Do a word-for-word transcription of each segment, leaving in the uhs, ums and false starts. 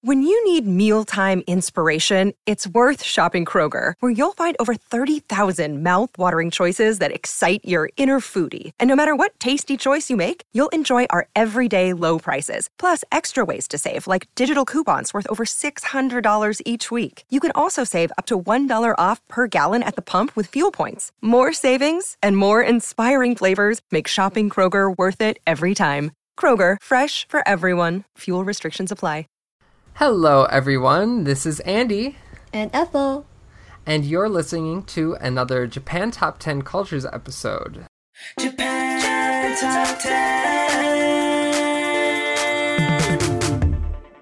When you need mealtime inspiration, it's worth shopping Kroger, where you'll find over thirty thousand mouth-watering choices that excite your inner foodie. And no matter what tasty choice you make, you'll enjoy our everyday low prices, plus extra ways to save, like digital coupons worth over six hundred dollars each week. You can also save up to one dollar off per gallon at the pump with fuel points. More savings and more inspiring flavors make shopping Kroger worth it every time. Kroger, fresh for everyone. Fuel restrictions apply. Hello, everyone. This is Andy. And Ethel. And you're listening to another Japan Top ten Cultures episode. Japan Top ten.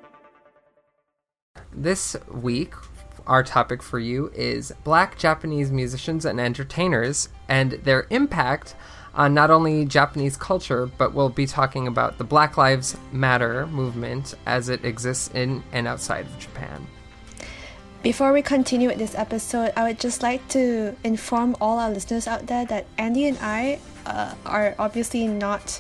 This week, our topic for you is Black Japanese musicians and entertainers and their impact on not only Japanese culture, but we'll be talking about the Black Lives Matter movement as it exists in and outside of Japan. Before we continue with this episode, I would just like to inform all our listeners out there that Andy and I uh, are obviously not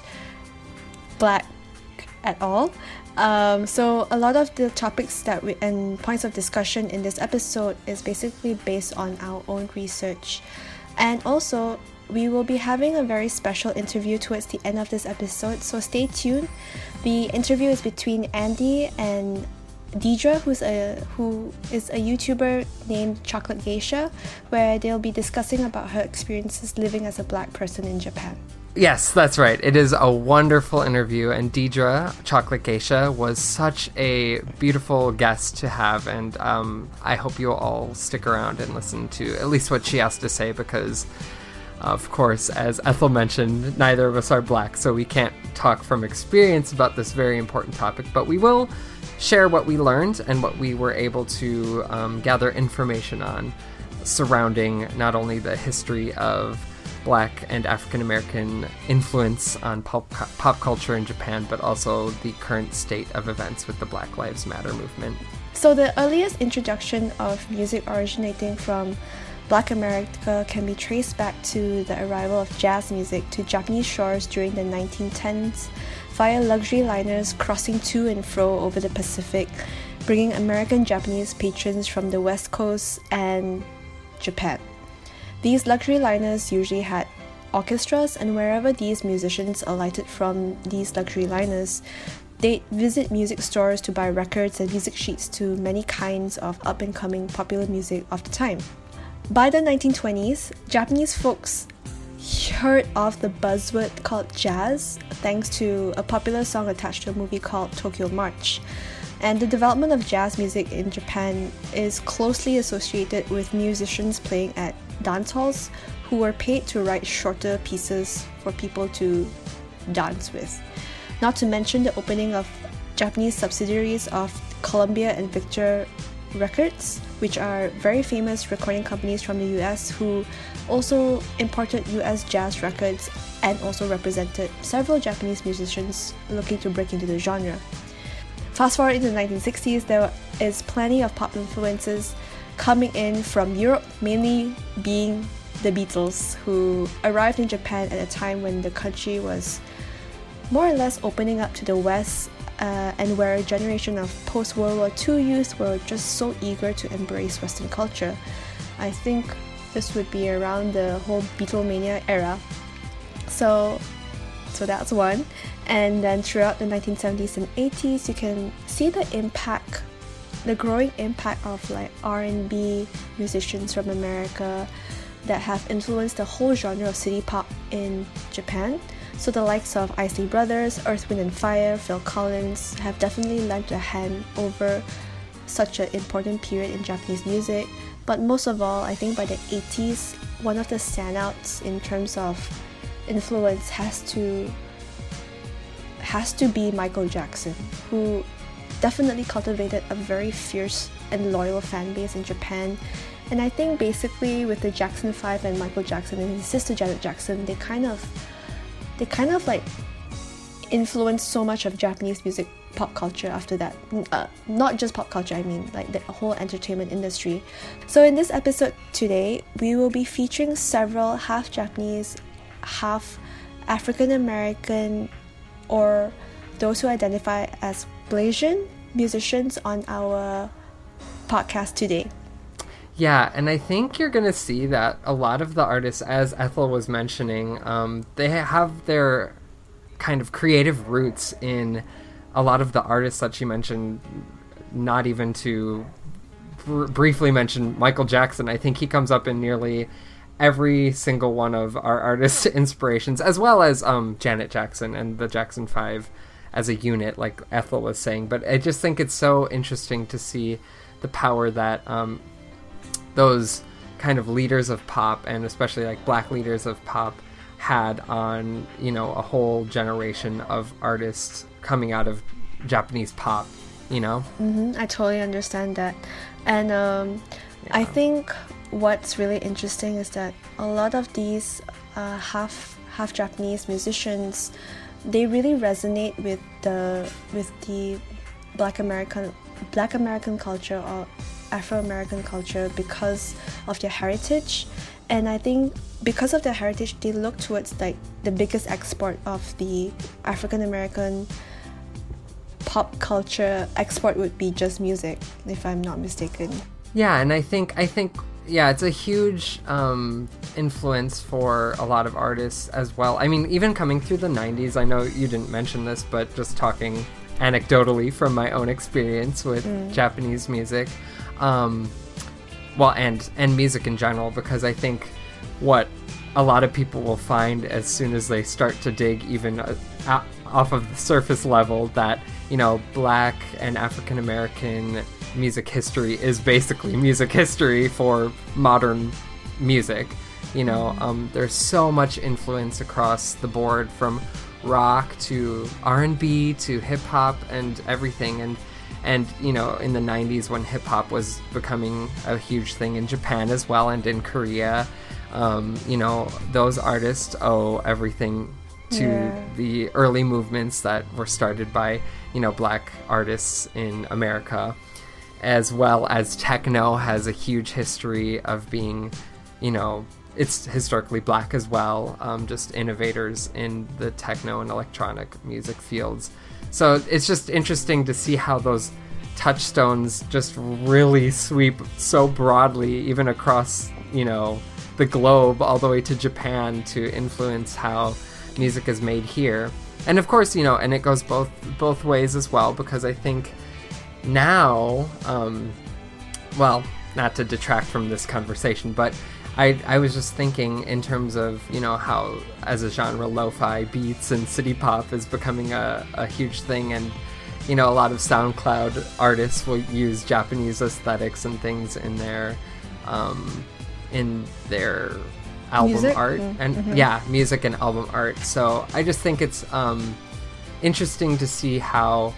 Black at all. Um, so a lot of the topics that we and points of discussion in this episode is basically based on our own research. And also, we will be having a very special interview towards the end of this episode, so stay tuned. The interview is between Andy and Deidre, who's a who is a YouTuber named Chocolate Geisha, where they'll be discussing about her experiences living as a Black person in Japan. Yes, that's right. It is a wonderful interview, and Deidre, Chocolate Geisha, was such a beautiful guest to have, and um, I hope you'll all stick around and listen to at least what she has to say, because of course, as Ethel mentioned, neither of us are Black, so we can't talk from experience about this very important topic, but we will share what we learned and what we were able to um, gather information on surrounding not only the history of Black and African American influence on pop, pop culture in Japan, but also the current state of events with the Black Lives Matter movement. So the earliest introduction of music originating from Black America can be traced back to the arrival of jazz music to Japanese shores during the nineteen tens via luxury liners crossing to and fro over the Pacific, bringing American Japanese patrons from the West Coast and Japan. These luxury liners usually had orchestras, and wherever these musicians alighted from these luxury liners, they'd visit music stores to buy records and music sheets to many kinds of up-and-coming popular music of the time. By the nineteen twenties, Japanese folks heard of the buzzword called jazz thanks to a popular song attached to a movie called Tokyo March. And the development of jazz music in Japan is closely associated with musicians playing at dance halls who were paid to write shorter pieces for people to dance with. Not to mention the opening of Japanese subsidiaries of Columbia and Victor Records, which are very famous recording companies from the U S who also imported U S jazz records and also represented several Japanese musicians looking to break into the genre. Fast forward into the nineteen sixties, there is plenty of pop influences coming in from Europe, mainly being the Beatles, who arrived in Japan at a time when the country was more or less opening up to the West, uh, and where a generation of post-World War Two youth were just so eager to embrace Western culture. I think this would be around the whole Beatlemania era. So, so that's one. And then throughout the nineteen seventies and eighties, you can see the impact, the growing impact of like R and B musicians from America that have influenced the whole genre of city pop in Japan. So the likes of Isley Brothers, Earth, Wind and Fire, Phil Collins have definitely lent a hand over such an important period in Japanese music. But most of all, I think by the eighties, one of the standouts in terms of influence has to has to be Michael Jackson, who definitely cultivated a very fierce and loyal fan base in Japan. And I think basically with the Jackson five and Michael Jackson and his sister Janet Jackson, they kind of they kind of like influenced so much of Japanese music pop culture after that. Uh, not just pop culture, I mean like the whole entertainment industry. So in this episode today, we will be featuring several half Japanese, half African American, or those who identify as Blasian musicians on our podcast today. Yeah, and I think you're going to see that a lot of the artists, as Ethel was mentioning, um, they have their kind of creative roots in a lot of the artists that she mentioned, not even to br- briefly mention Michael Jackson. I think he comes up in nearly every single one of our artist inspirations, as well as um, Janet Jackson and the Jackson Five as a unit, like Ethel was saying. But I just think it's so interesting to see the power that um, those kind of leaders of pop, and especially like black leaders of pop, had on, you know, a whole generation of artists coming out of Japanese pop, you know? Mm-hmm. I totally understand that. And um, yeah. I think what's really interesting is that a lot of these uh, half half Japanese musicians, they really resonate with the with the Black American Black American culture or Afro-American culture because of their heritage. And I think because of their heritage, they look towards like the biggest export of the African-American pop culture export would be just music, if I'm not mistaken. Yeah, and I think I think yeah, it's a huge um, influence for a lot of artists as well. I mean, even coming through the nineties, I know you didn't mention this, but just talking anecdotally from my own experience with mm. Japanese music, um, well, and and music in general, because I think what a lot of people will find as soon as they start to dig even uh, out, off of the surface level that, you know, Black and African American music history is basically music history for modern music. You know, um, there's so much influence across the board, from rock to R and B to hip hop and everything. And and you know, in the nineties when hip hop was becoming a huge thing in Japan as well, and in Korea, um, you know, those artists owe everything to yeah. the early movements that were started by, you know, Black artists in America, as well as techno has a huge history of being, you know, it's historically Black as well, um, just innovators in the techno and electronic music fields. So it's just interesting to see how those touchstones just really sweep so broadly, even across, you know, the globe, all the way to Japan, to influence how music is made here. And of course, you know, and it goes both both ways as well, because I think now, um, well, not to detract from this conversation, but I, I was just thinking in terms of, you know, how as a genre lo-fi beats and city pop is becoming a, a huge thing, and, you know, a lot of SoundCloud artists will use Japanese aesthetics and things in their um, in their album music? art Mm-hmm. and yeah, music and album art. So I just think it's um, interesting to see how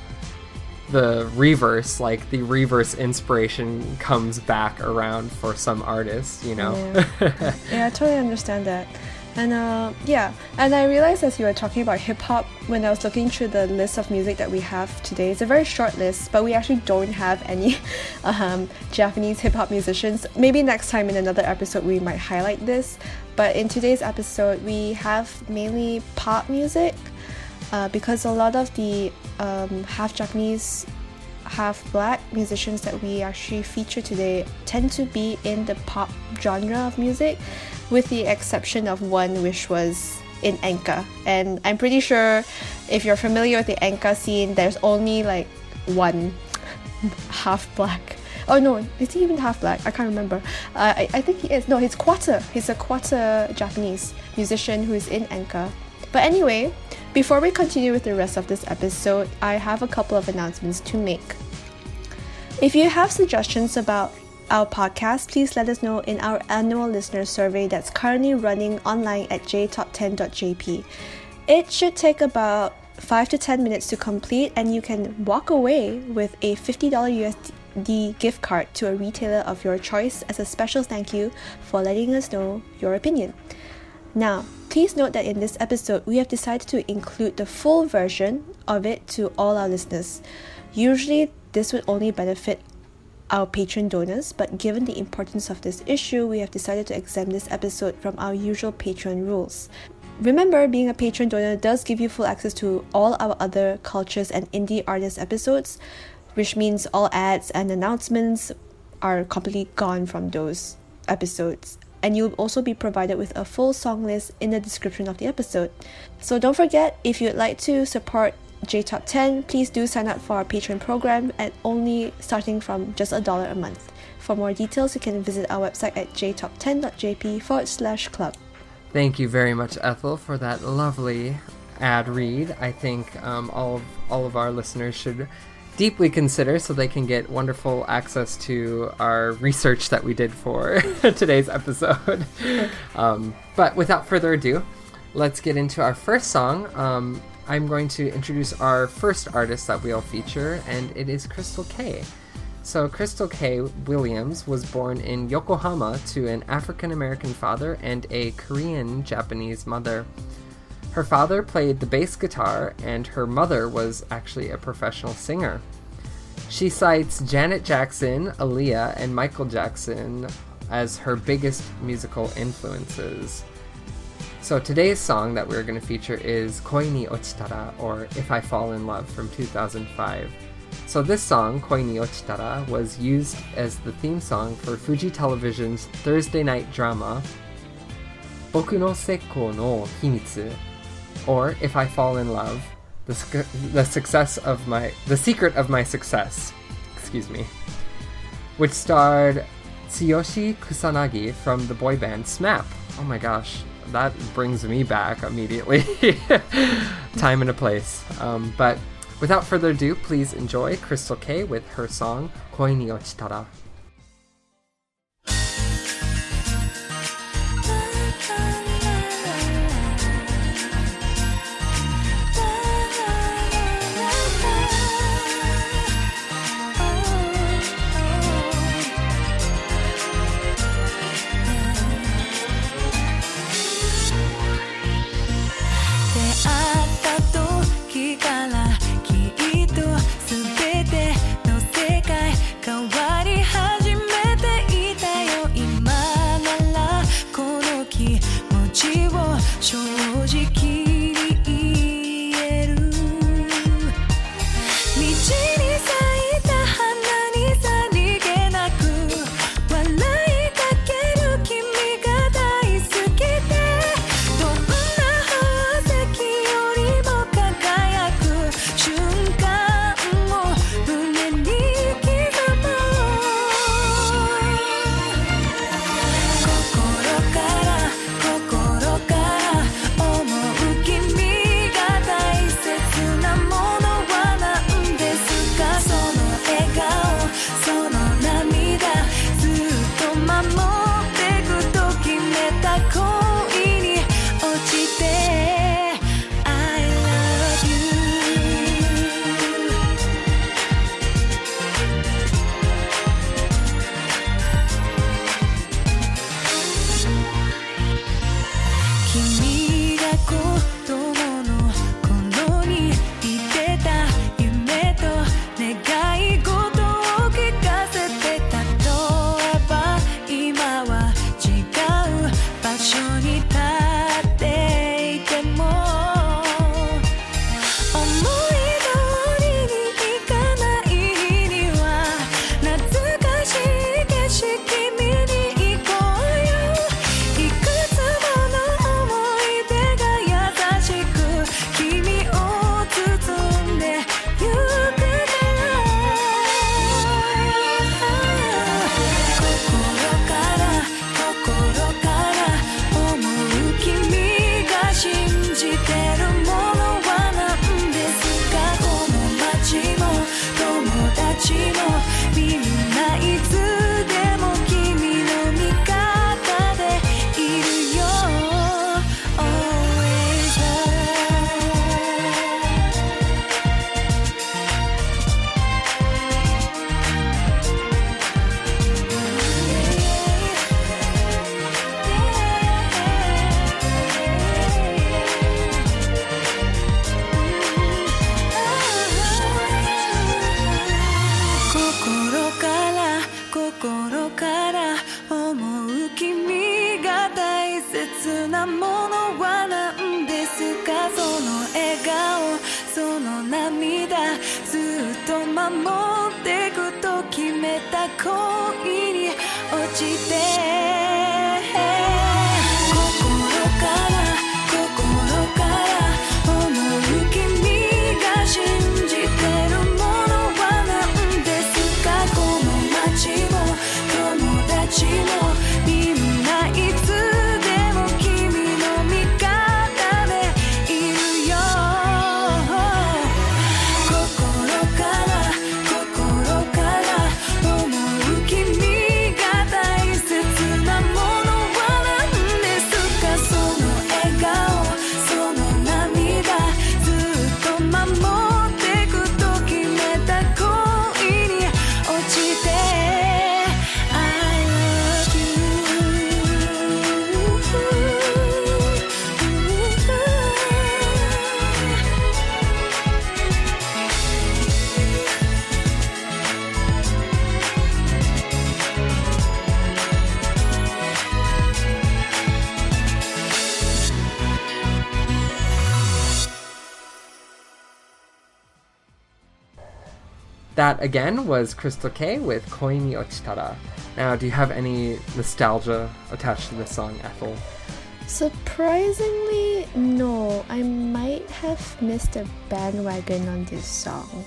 the reverse, like the reverse inspiration, comes back around for some artists, you know. Yeah, yeah, I totally understand that. And uh, yeah, and I realized as you were talking about hip-hop, when I was looking through the list of music that we have today, it's a very short list, but we actually don't have any um, Japanese hip-hop musicians. Maybe next time in another episode we might highlight this, but in today's episode we have mainly pop music, uh, because a lot of the um, half Japanese, half Black musicians that we actually feature today tend to be in the pop genre of music, with the exception of one which was in Enka. And I'm pretty sure if you're familiar with the Enka scene, there's only like one half Black. Oh no, is he even half Black? I can't remember. Uh, I, I think he is. No, he's quarter. He's a quarter Japanese musician who is in Enka. But anyway, before we continue with the rest of this episode, I have a couple of announcements to make. If you have suggestions about our podcast, please let us know in our annual listener survey that's currently running online at j top ten dot j p. It should take about five to ten minutes to complete, and you can walk away with a fifty dollars U S D gift card to a retailer of your choice as a special thank you for letting us know your opinion. Now, please note that in this episode, we have decided to include the full version of it to all our listeners. Usually, this would only benefit our patron donors, but given the importance of this issue, we have decided to exempt this episode from our usual patron rules. Remember, being a patron donor does give you full access to all our other cultures and indie artist episodes. which means all ads and announcements are completely gone from those episodes. And you'll also be provided with a full song list in the description of the episode. So don't forget, if you'd like to support J Top ten, please do sign up for our Patreon program at only starting from just a dollar a month. For more details, you can visit our website at j top ten dot j p forward slash club. Thank you very much, Ethel, for that lovely ad read. I think um, all of, all of our listeners should deeply consider so they can get wonderful access to our research that we did for today's episode. um, but without further ado, let's get into our first song. Um, I'm going to introduce our first artist that we'll feature, and it is Crystal K. So Crystal K. Williams was born in Yokohama to an African-American father and a Korean-Japanese mother. Her father played the bass guitar, and her mother was actually a professional singer. She cites Janet Jackson, Aaliyah, and Michael Jackson as her biggest musical influences. So today's song that we're going to feature is Koi ni Ochitara, or If I Fall in Love, from two thousand five. So this song, Koi ni Ochitara, was used as the theme song for Fuji Television's Thursday night drama Boku no Sekko no Himitsu, or If I Fall in Love, the, sc- the success of my, the secret of my success, excuse me, which starred Tsuyoshi Kusanagi from the boy band SMAP. Oh my gosh, that brings me back immediately. Time and a place. Um, but without further ado, please enjoy Crystal K with her song Koi ni Ochitara. その涙ずっと守ってくと決めた恋に落ちて心から心から思う君が信じてるものは何ですかこの街も友達もみんないつでも君の味方でいるよ心から心から思う君が大切なものは何ですかその笑顔その涙ずっと守ってくと決めた恋に落ちて I love That again was Crystal K with Koi ni Ochitara. Now, do you have any nostalgia attached to this song, Ethel? Surprisingly, no. I might have missed a bandwagon on this song.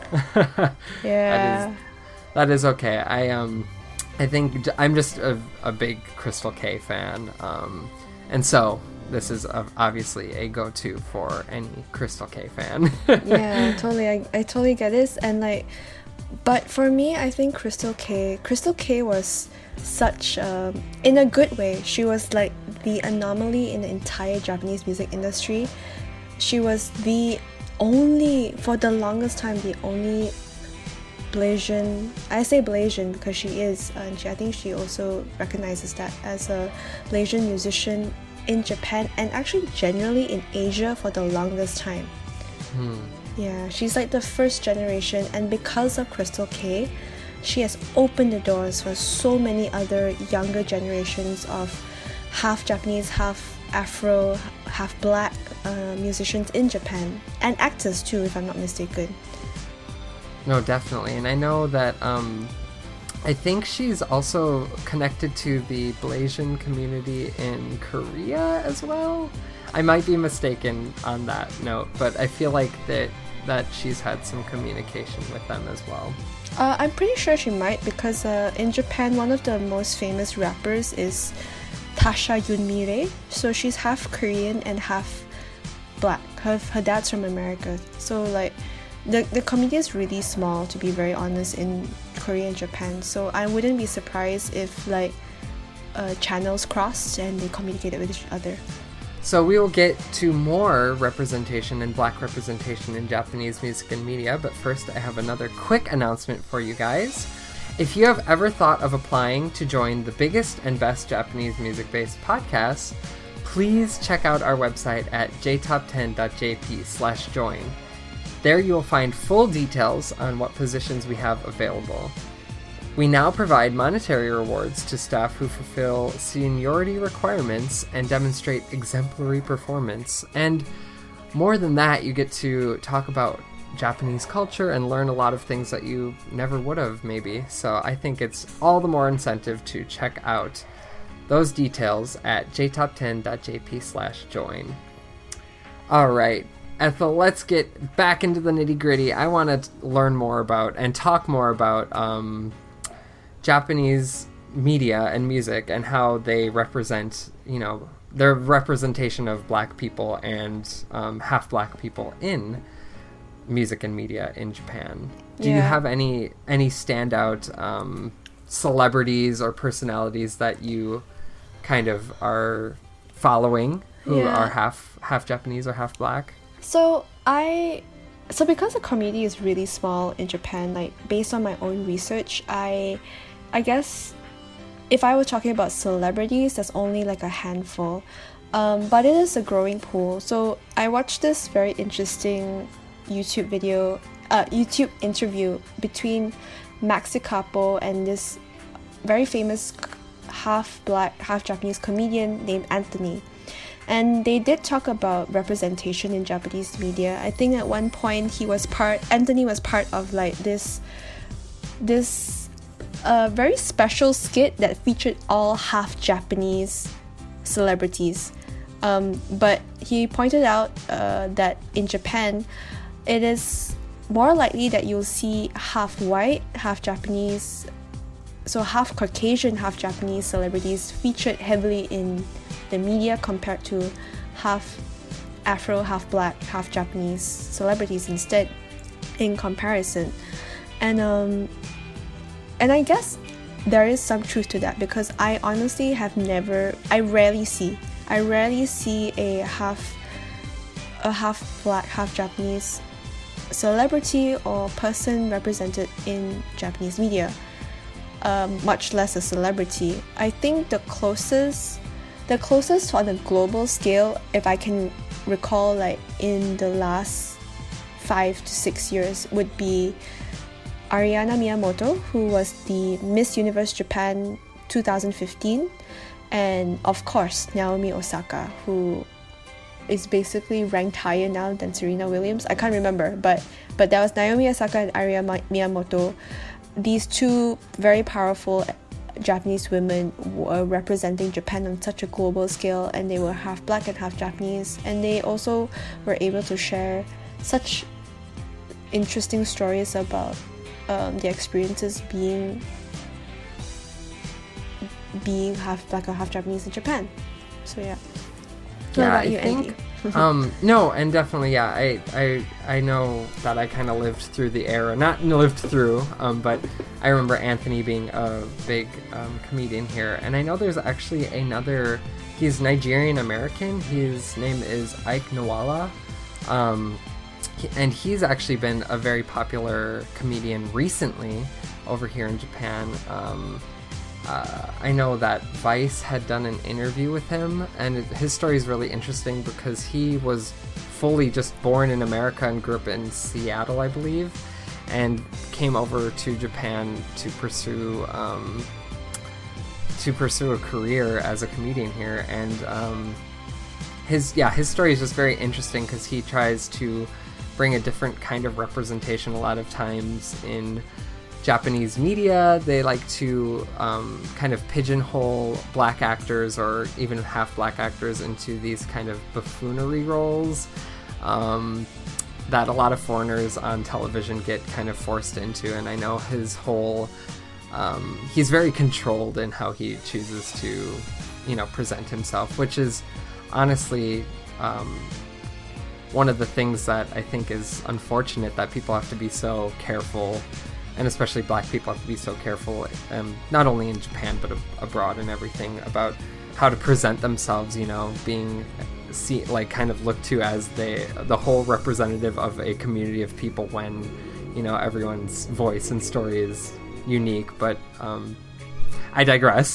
Yeah. That is, that is okay. I um, I think j- I'm just a, a big Crystal K fan, um, and so this is a, obviously a go-to for any Crystal K fan. Yeah, totally. I, I totally get this. And like, but for me, I think Crystal K, Crystal K was such, um, in a good way, she was like the anomaly in the entire Japanese music industry. She was the only, for the longest time, the only Blasian, I say Blasian because she is, and she, I think she also recognizes that as a Blasian musician in Japan and actually generally in Asia for the longest time. Hmm. Yeah, she's like the first generation, and because of Crystal K, she has opened the doors for so many other younger generations of half Japanese, half Afro, half black uh, musicians in Japan, and actors too, if I'm not mistaken. No, definitely. And I know that um, I think she's also connected to the Blasian community in Korea as well. I might be mistaken on that note, but I feel like that that she's had some communication with them as well. Uh, I'm pretty sure she might, because uh, in Japan, one of the most famous rappers is Tasha Yunmire. So she's half Korean and half black. Her, her dad's from America. So like, the, the community is really small, to be very honest, in Korea and Japan. So I wouldn't be surprised if like uh, channels crossed and they communicated with each other. So we will get to more representation and black representation in Japanese music and media, but first I have another quick announcement for you guys. If you have ever thought of applying to join the biggest and best Japanese music-based podcasts, please check out our website at j top ten dot j p slash join. There you will find full details on what positions we have available. We now provide monetary rewards to staff who fulfill seniority requirements and demonstrate exemplary performance. And more than that, you get to talk about Japanese culture and learn a lot of things that you never would have, maybe. So I think it's all the more incentive to check out those details at j top ten dot j p slash join. All right, Ethel, let's get back into the nitty-gritty. I want to learn more about and talk more about um, Japanese media and music and how they represent, you know, their representation of black people and um, half black people in music and media in Japan. Do Yeah. you have any any standout um, celebrities or personalities that you kind of are following who Yeah. are half half Japanese or half black? So I, so because the community is really small in Japan, like based on my own research, I, I guess if I were talking about celebrities, there's only like a handful, um, but it is a growing pool. So I watched this very interesting YouTube video, uh, YouTube interview between Maxi Capo and this very famous half black, half Japanese comedian named Anthony. And they did talk about representation in Japanese media. I think at one point he was part, Anthony was part of like this, this uh, very special skit that featured all half Japanese celebrities. Um, but he pointed out uh, that in Japan, it is more likely that you'll see half white, half Japanese, so half Caucasian, half Japanese celebrities featured heavily in the media compared to half Afro, half black, half Japanese celebrities instead in comparison. And um, and I guess there is some truth to that, because I honestly have never, I rarely see, I rarely see a half, a half black, half Japanese celebrity or person represented in Japanese media, um, much less a celebrity. I think the closest, the closest on a global scale, if I can recall, like in the last five to six years, would be Ariana Miyamoto, who was the Miss Universe Japan two thousand fifteen, and of course Naomi Osaka, who is basically ranked higher now than Serena Williams. I can't remember, but but that was Naomi Osaka and Ariana Miyamoto. These two very powerful Japanese women were representing Japan on such a global scale, and they were half black and half Japanese, and they also were able to share such interesting stories about um, their experiences being being half black or half Japanese in Japan. So yeah. What yeah, about I you, think, Andy? um, no, and definitely, yeah, I, I, I know that I kind of lived through the era, not lived through, um, but I remember Anthony being a big um, comedian here, and I know there's actually another, he's Nigerian American, his name is Ike Nwala, um, he, and he's actually been a very popular comedian recently over here in Japan. um, Uh, I know that Vice had done an interview with him, and it, his story is really interesting because he was fully just born in America and grew up in Seattle, I believe, and came over to Japan to pursue um, to pursue a career as a comedian here. And um, his yeah his story is just very interesting because he tries to bring a different kind of representation. A lot of times in Japanese media, they like to um, kind of pigeonhole black actors or even half black actors into these kind of buffoonery roles um, that a lot of foreigners on television get kind of forced into. And I know his whole um, he's very controlled in how he chooses to, you know, present himself, which is honestly um, one of the things that I think is unfortunate, that people have to be so careful, and especially black people have to be so careful, um, not only in Japan but ab- abroad and everything, about how to present themselves, you know, being see, like kind of looked to as they, the whole representative of a community of people, when, you know, everyone's voice and story is unique. But um, I digress.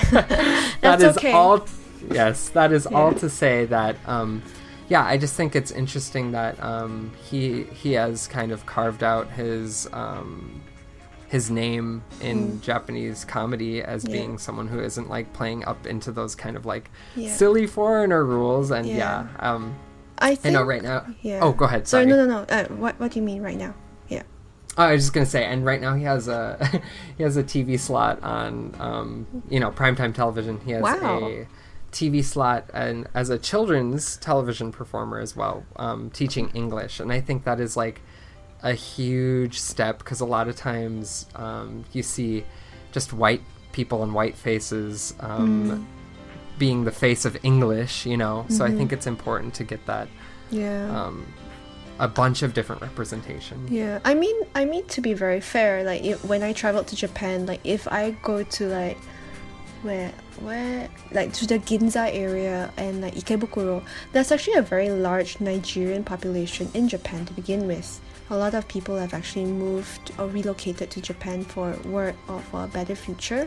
That is okay. all. Yes, that is Yeah. all to say that. Um, Yeah, I just think it's interesting that um, he he has kind of carved out his um, his name in Mm. Japanese comedy as Yeah. being someone who isn't like playing up into those kind of like Yeah. silly foreigner rules. And Yeah. yeah, um, I I think, know right now. Yeah. Oh, go ahead. Sorry, Sorry. no, no, no. Uh, what What do you mean right now? Yeah. Oh, I was just gonna say, and right now he has a he has a T V slot on um, you know, primetime television. He has Wow. a T V slot and as a children's television performer as well, um, teaching English. And I think that is like a huge step, because a lot of times um, you see just white people and white faces um, Mm. being the face of English, you know. So I Mhm. think it's important to get that Yeah. um, a bunch of different representation. Yeah, I mean, I mean to be very fair, like if, when I traveled to Japan, like if I go to like where where like to the Ginza area and like Ikebukuro, there's actually a very large Nigerian population in Japan to begin with. A lot of people have actually moved or relocated to Japan for work or for a better future.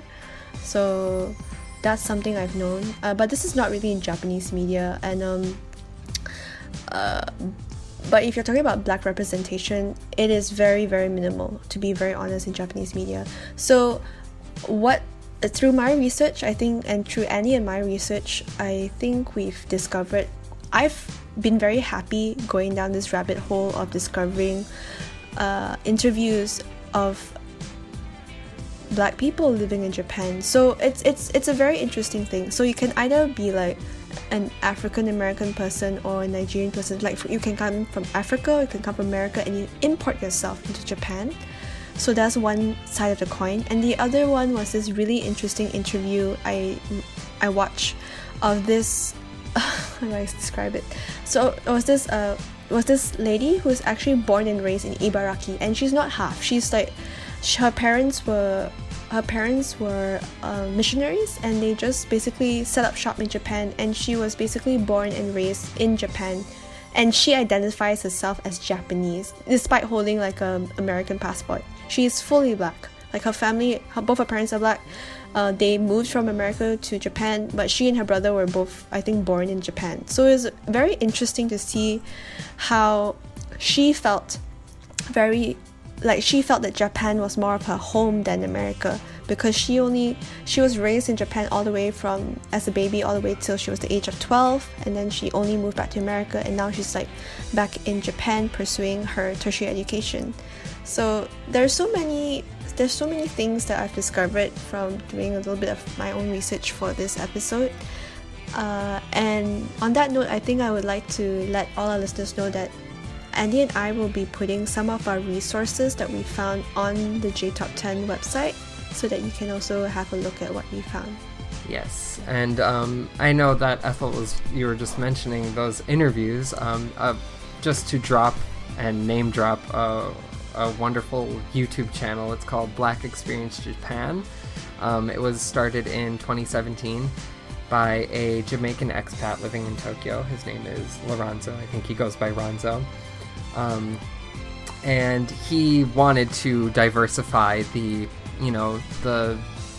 So that's something I've known. Uh, but this is not really in Japanese media, and um uh but if you're talking about black representation, it is very, very minimal, to be very honest, in Japanese media. So what through my research, I think, and through Annie and my research, I think we've discovered, I've been very happy going down this rabbit hole of discovering uh, interviews of Black people living in Japan. So it's it's it's a very interesting thing. So you can either be like an African American person or a Nigerian person. Like you can come from Africa, you can come from America, and you import yourself into Japan. So that's one side of the coin. And the other one was this really interesting interview I I watched of this. How do I describe it? So it was this uh was this lady who was actually born and raised in Ibaraki, and she's not half. She's like, her parents were. Her parents were uh, missionaries, and they just basically set up shop in Japan, and she was basically born and raised in Japan, and she identifies herself as Japanese despite holding like an American passport. She is fully Black. Like her family, her, both her parents are Black. Uh, they moved from America to Japan, but she and her brother were both, I think, born in Japan. So it was very interesting to see how she felt very like she felt that Japan was more of her home than America, because she only she was raised in Japan all the way from as a baby all the way till she was the age of twelve, and then she only moved back to America, and now she's like back in Japan pursuing her tertiary education. So there's so many there's so many things that I've discovered from doing a little bit of my own research for this episode. Uh, and on that note, I think I would like to let all our listeners know that Andy and I will be putting some of our resources that we found on the J Top ten website, so that you can also have a look at what we found. Yes, and um, I know that Ethel was, you were just mentioning those interviews, um, uh, just to drop and name drop uh, a wonderful YouTube channel. It's called Black Experience Japan. Um, it was started in twenty seventeen by a Jamaican expat living in Tokyo. His name is Lorenzo. I think he goes by Ronzo. Um, and he wanted to diversify the, you know, the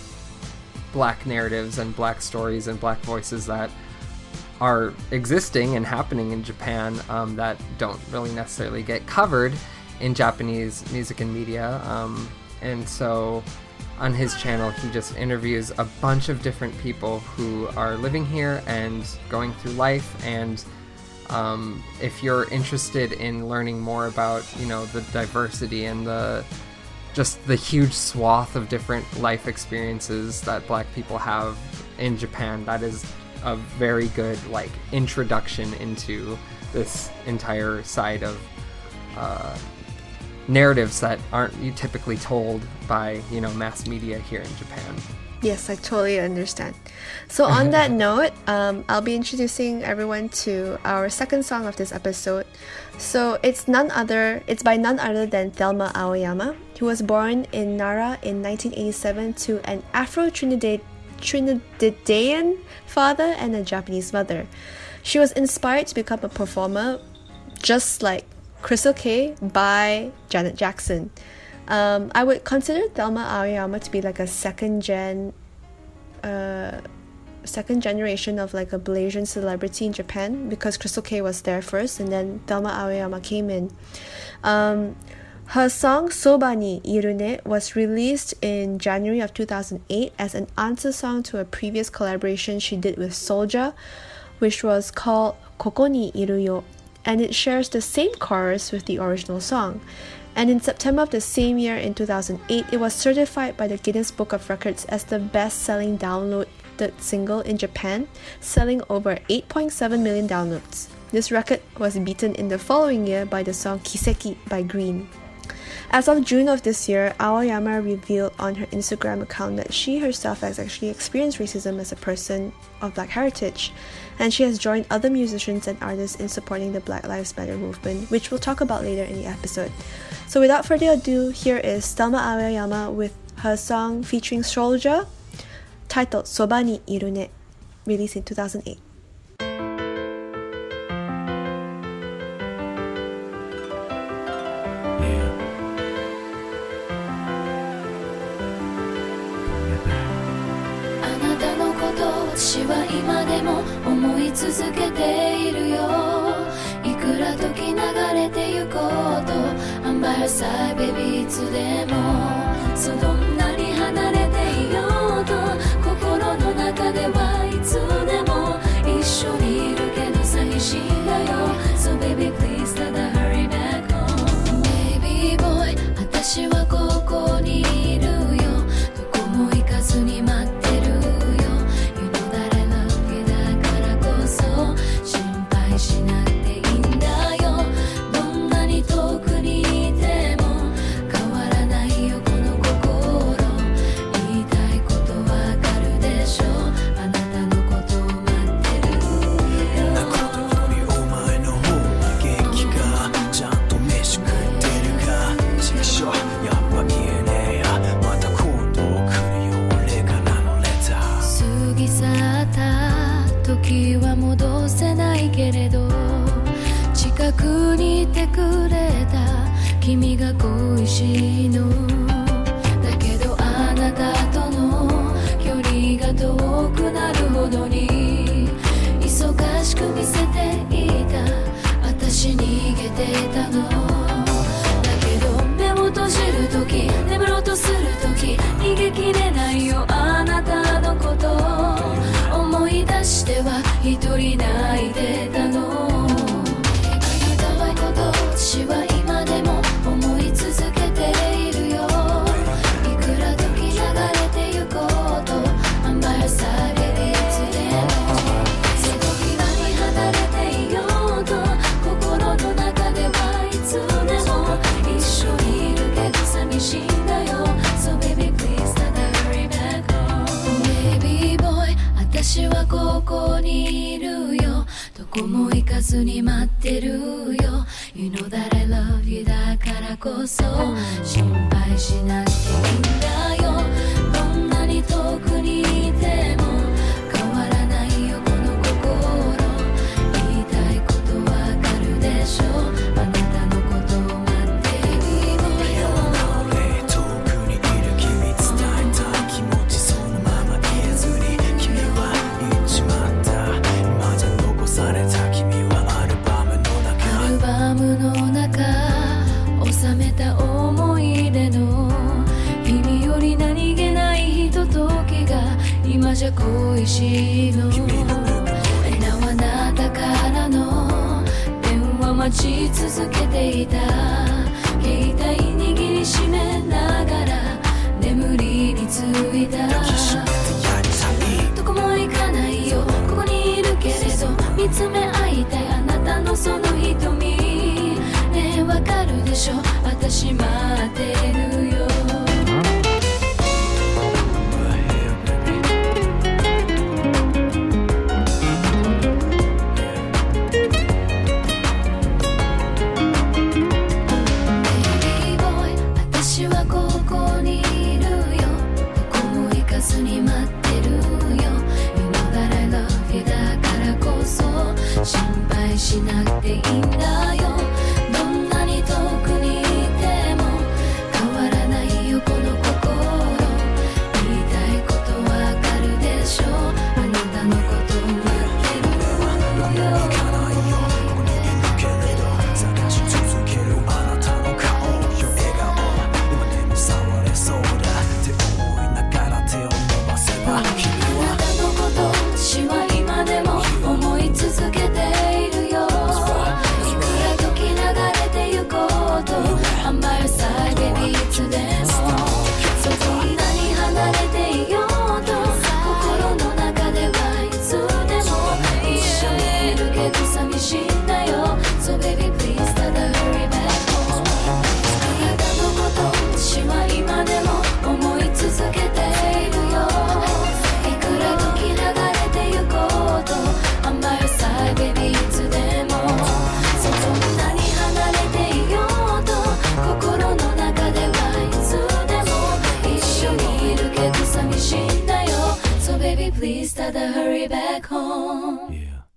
Black narratives and Black stories and Black voices that are existing and happening in Japan, um, that don't really necessarily get covered in Japanese music and media. Um, and so on his channel, he just interviews a bunch of different people who are living here and going through life. And um, if you're interested in learning more about, you know, the diversity and the just the huge swath of different life experiences that Black people have in Japan, that is a very good like introduction into this entire side of uh, narratives that aren't you typically told by, you know, mass media here in Japan. Yes, I totally understand. So on that note, um, I'll be introducing everyone to our second song of this episode. So it's none other, it's by none other than Thelma Aoyama, who was born in Nara in nineteen eighty-seven to an Afro-Trinidad Trinidadian father and a Japanese mother. She was inspired to become a performer, just like Crystal Kay, by Janet Jackson. Um, I would consider Thelma Aoyama to be like a second gen, uh, second generation of like a Malaysian celebrity in Japan, because Crystal Kay was there first, and then Thelma Aoyama came in. Um, her song Soba ni Iru ne was released in January of two thousand eight as an answer song to a previous collaboration she did with Soulja, which was called Koko ni Iru yo, and it shares the same chorus with the original song. And in September of the same year, in two thousand eight, it was certified by the Guinness Book of Records as the best-selling downloaded single in Japan, selling over eight point seven million downloads. This record was beaten in the following year by the song Kiseki by Green. As of June of this year, Aoyama revealed on her Instagram account that she herself has actually experienced racism as a person of Black heritage, and she has joined other musicians and artists in supporting the Black Lives Matter movement, which we'll talk about later in the episode. So without further ado, here is Thelma Aoyama with her song featuring Soulja, titled Soba ni Iru ne, released in two thousand eight. Side, baby, いつでもそうどんなに離れていようと please ただ hurry back home Baby boy 私はここにいるよどこも行かずに待ってるよ You know that I love you だからこそ心配しなくていいんだよどんなに遠くにいても変わらないよこの心言いたいことわかるでしょあなたのことを待ってるよなことよりお前の方が元気かちゃんと飯食ってるかちくしょやっぱ言えねえやまた今度来るよ俺からのレター過ぎ去った時は戻せないけれど近くにいてくれた君が恋しいのだけどあなたとの距離が遠くなるほどに忙しく見せていた私逃げてたのだけど目を閉じる時眠ろうとする時逃げきれないよあなたのこと思い出しては一人泣いてたの言いたいこと私は今でも思い続けているよいくら時流れてゆこうとあんまりされるいつでもその日はに離れていようと心の中ではいつでも一緒にいるけど寂しいんだよ So baby please ただ hurry back home Baby boy 私はここにいるよどこも行かずに待ってるよ You know that I love you だからこそ心配しなくていいんだよどんなに遠くにいても変わらないよこの心言いたいことわかるでしょあなたのことを待っているよ俺遠くにいる君伝えたい気持ちそのまま言えずに君は言っちまった今じゃ残された君はアルバムの中アルバムの中収めた思い出の日々より何気ないひとときが今じゃ恋しいのえなあなたからの電話待ち続けていた携帯握りしめながら眠りについたどこも行かないよここにいるけれど見つめ合いたいあなたのその瞳ねえわかるでしょ私待ってるよ私はここにいるよどこも行かずに待ってるよ You know that I love you だからこそ心配しなくていいんだよどんなに遠くにいても変わらないよこの心言いたいことわかるでしょあなたのことを待ってるよ行かないよここにいるけれど探し続けるあなたの顔よ笑顔今でも触れそうだって思いながら手を伸ばせば君あなたのこと私は今でも思い続けているよいくら時流れてゆこうと I'm by your side baby いつでもそこに何離れていようと心の中ではいつでも一緒にいるけど寂しいんだよ So baby please ただ hurry back home あなたのこと私は今でも思い続けているよいくら時流れてゆこうと I'm by your side baby いつでもそこに何離れていようと心の中ではいつでも一緒にいるけど寂しいんだよ So baby please ただ hurry back home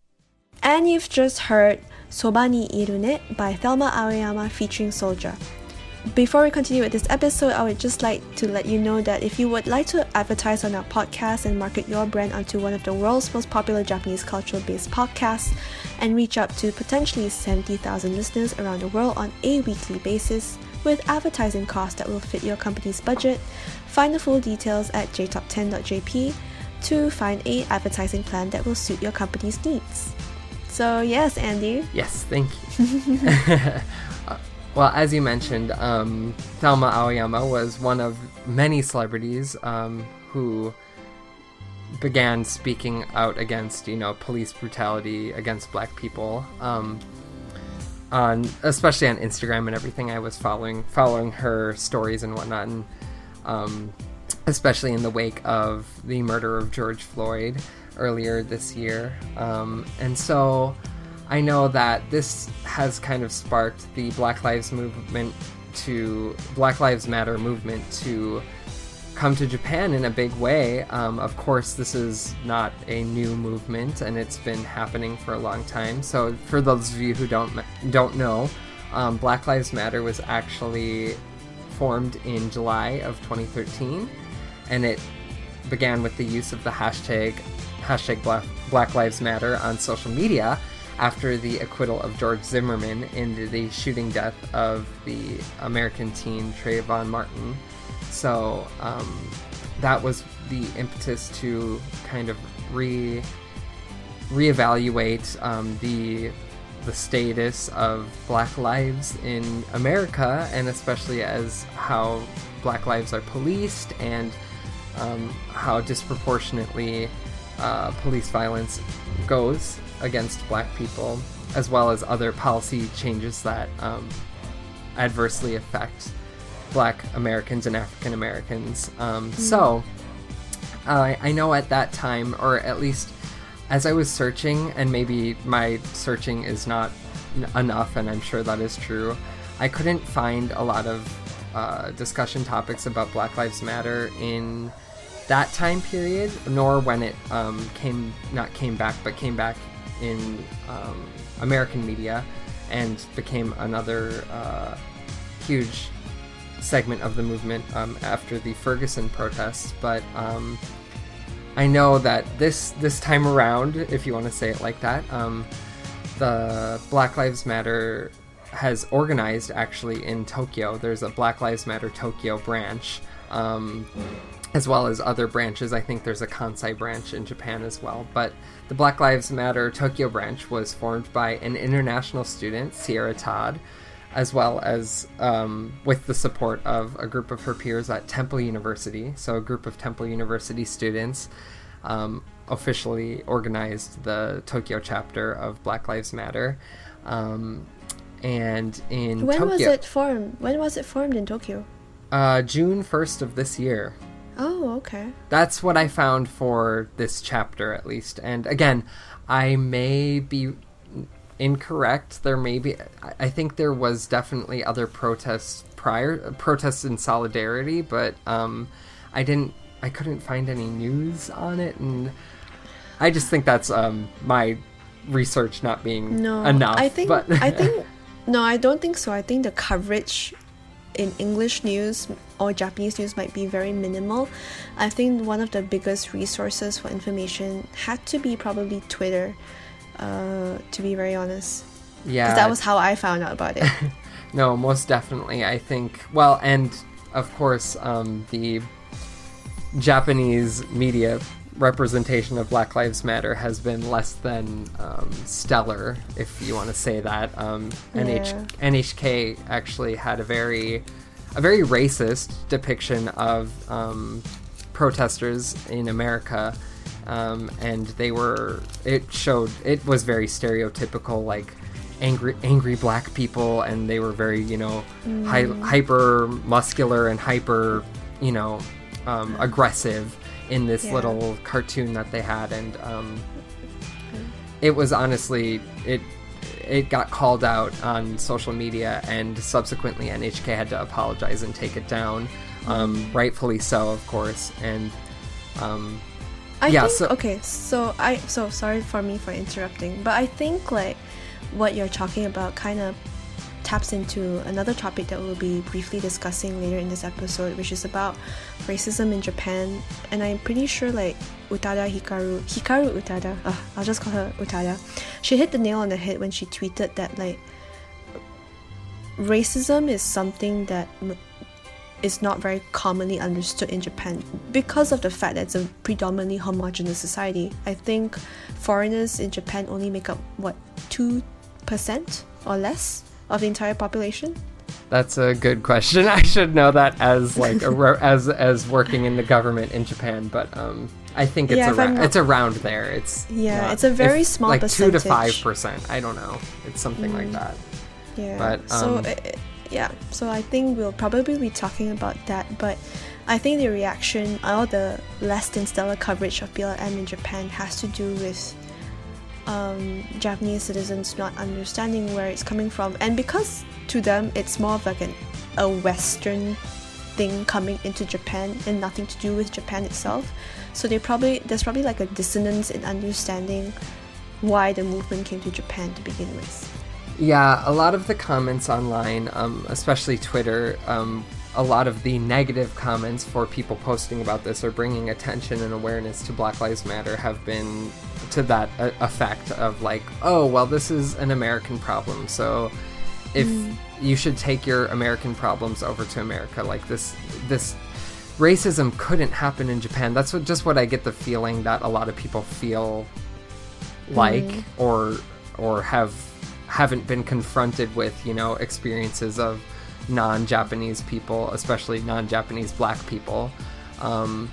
And you've just heard そばにいるね by Thelma Aoyama featuring Soldier. Before we continue with this episode, I would just like to let you know that if you would like to advertise on our podcast and market your brand onto one of the world's most popular Japanese cultural-based podcasts and reach up to potentially seventy thousand listeners around the world on a weekly basis with advertising costs that will fit your company's budget, find the full details at j top ten dot j p to find a advertising plan that will suit your company's needs. So yes, Andy. Yes, thank you. Well, as you mentioned, um, Thelma Aoyama was one of many celebrities um, who began speaking out against, you know, police brutality against Black people. Um, on especially on Instagram and everything, I was following following her stories and whatnot, and um, especially in the wake of the murder of George Floyd earlier this year. Um, and so I know that this has kind of sparked the Black Lives movement to Black Lives Matter movement to come to Japan in a big way. Um, of course, this is not a new movement, and it's been happening for a long time. So, for those of you who don't don't know, um, Black Lives Matter was actually formed in July of twenty thirteen, and it began with the use of the hashtag hashtag Black, Black Lives Matter on social media after the acquittal of George Zimmerman in the shooting death of the American teen Trayvon Martin. So um, that was the impetus to kind of re reevaluate um, the the status of Black lives in America, and especially as how Black lives are policed and um, how disproportionately uh, police violence goes against Black people, as well as other policy changes that um, adversely affect Black Americans and African Americans. Um, mm. So, uh, I know at that time, or at least as I was searching, and maybe my searching is not n- enough, and I'm sure that is true, I couldn't find a lot of uh, discussion topics about Black Lives Matter in that time period, nor when it um, came, not came back, but came back in um, American media and became another uh, huge segment of the movement um, after the Ferguson protests. But um, I know that this this time around, if you want to say it like that, um, the Black Lives Matter has organized actually in Tokyo. There's a Black Lives Matter Tokyo branch, um, as well as other branches. I think there's a Kansai branch in Japan as well. But the Black Lives Matter Tokyo branch was formed by an international student, Sierra Todd, as well as um, with the support of a group of her peers at Temple University. So a group of Temple University students um, officially organized the Tokyo chapter of Black Lives Matter. Um, and in when Tokyo... was it formed? When was it formed in Tokyo? Uh, June first of this year. Oh, okay. That's what I found for this chapter, at least. And again, I may be incorrect. There may be, I think there was definitely other protests prior, protests in solidarity, but um, I didn't, I couldn't find any news on it, and I just think that's um, my research not being no, enough. I think, but I think, no, I don't think so. I think the coverage in English news or Japanese news might be very minimal. I think one of the biggest resources for information had to be probably Twitter. Uh, to be very honest. Yeah. Because that was how I found out about it. No, most definitely. I think, well, and of course, um, the Japanese media representation of Black Lives Matter has been less than um, stellar, if you want to say that. Um, yeah. N H- N H K actually had a very, a very racist depiction of um, protesters in America. Um, and they were, it showed, it was very stereotypical, like angry, angry Black people, and they were very, you know, mm. hi- hyper muscular and hyper, you know, um, aggressive in this yeah. little cartoon that they had. And um, it was honestly, it, it got called out on social media, and subsequently N H K had to apologize and take it down, um, rightfully so, of course. And, um, I yeah, think, so, okay, so I, so sorry for me for interrupting, but I think like what you're talking about kind of taps into another topic that we'll be briefly discussing later in this episode, which is about racism in Japan. And I'm pretty sure like Utada Hikaru, Hikaru Utada, uh, I'll just call her Utada, she hit the nail on the head when she tweeted that like racism is something that is not very commonly understood in Japan because of the fact that it's a predominantly homogenous society. I think foreigners in Japan only make up, what, two percent or less of the entire population? That's a good question. I should know that as like a, as as working in the government in Japan, but um, I think it's Yeah, if I'm around not- it's around there. It's Yeah, not- it's a very if- small like two to five percentage. percent. I don't know. It's something like that. Yeah. But, so um, uh, yeah, so I think we'll probably be talking about that. But I think the reaction, all the less than stellar coverage of B L M in Japan has to do with um, Japanese citizens not understanding where it's coming from, and because to them it's more of like an, a Western thing coming into Japan and nothing to do with Japan itself. So they probably there's probably like a dissonance in understanding why the movement came to Japan to begin with. Yeah, a lot of the comments online, um, especially Twitter, um, a lot of the negative comments for people posting about this or bringing attention and awareness to Black Lives Matter have been to that uh, effect of like, oh, well, this is an American problem, so if mm. you should take your American problems over to America, like this, this racism couldn't happen in Japan. That's what, just what I get the feeling that a lot of people feel like, mm. or or have haven't been confronted with, you know, experiences of non-Japanese people, especially non-Japanese black people. Um,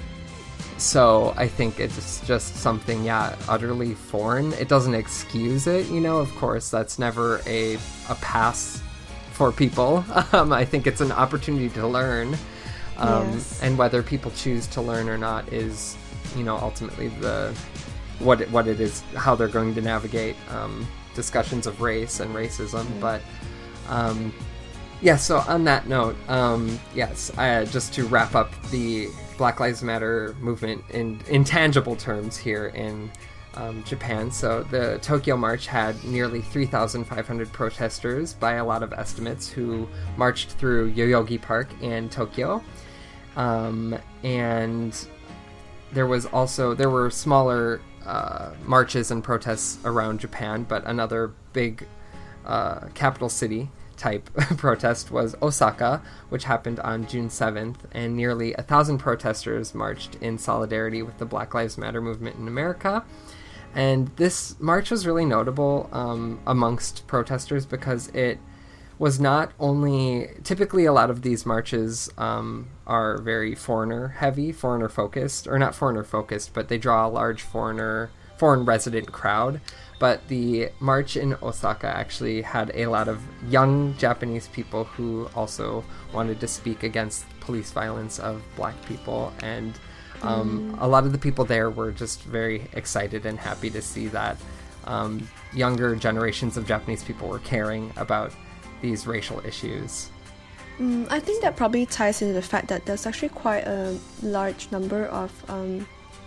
so I think it's just something, yeah, utterly foreign. It doesn't excuse it, you know, of course, that's never a, a pass for people. Um, I think it's an opportunity to learn. Um, yes. And whether people choose to learn or not is, you know, ultimately the what it, what it is, how they're going to navigate um, discussions of race and racism. Mm. But um, yeah, so on that note, um, yes, uh, just to wrap up the Black Lives Matter movement in intangible terms here in um, Japan. So the Tokyo March had nearly three thousand five hundred protesters by a lot of estimates who marched through Yoyogi Park in Tokyo. Um, and there was also, there were smaller uh, marches and protests around Japan, but another big uh, capital city type protest was Osaka, which happened on June seventh, and nearly a thousand protesters marched in solidarity with the Black Lives Matter movement in America. And this march was really notable um, amongst protesters because it was not only, typically a lot of these marches um, are very foreigner heavy, foreigner focused, or not foreigner focused, but they draw a large foreigner, foreign resident crowd. But the march in Osaka actually had a lot of young Japanese people who also wanted to speak against police violence of black people. And um, mm. a lot of the people there were just very excited and happy to see that um, younger generations of Japanese people were caring about these racial issues. Mm, I think that probably ties into the fact that there's actually quite a large number of um,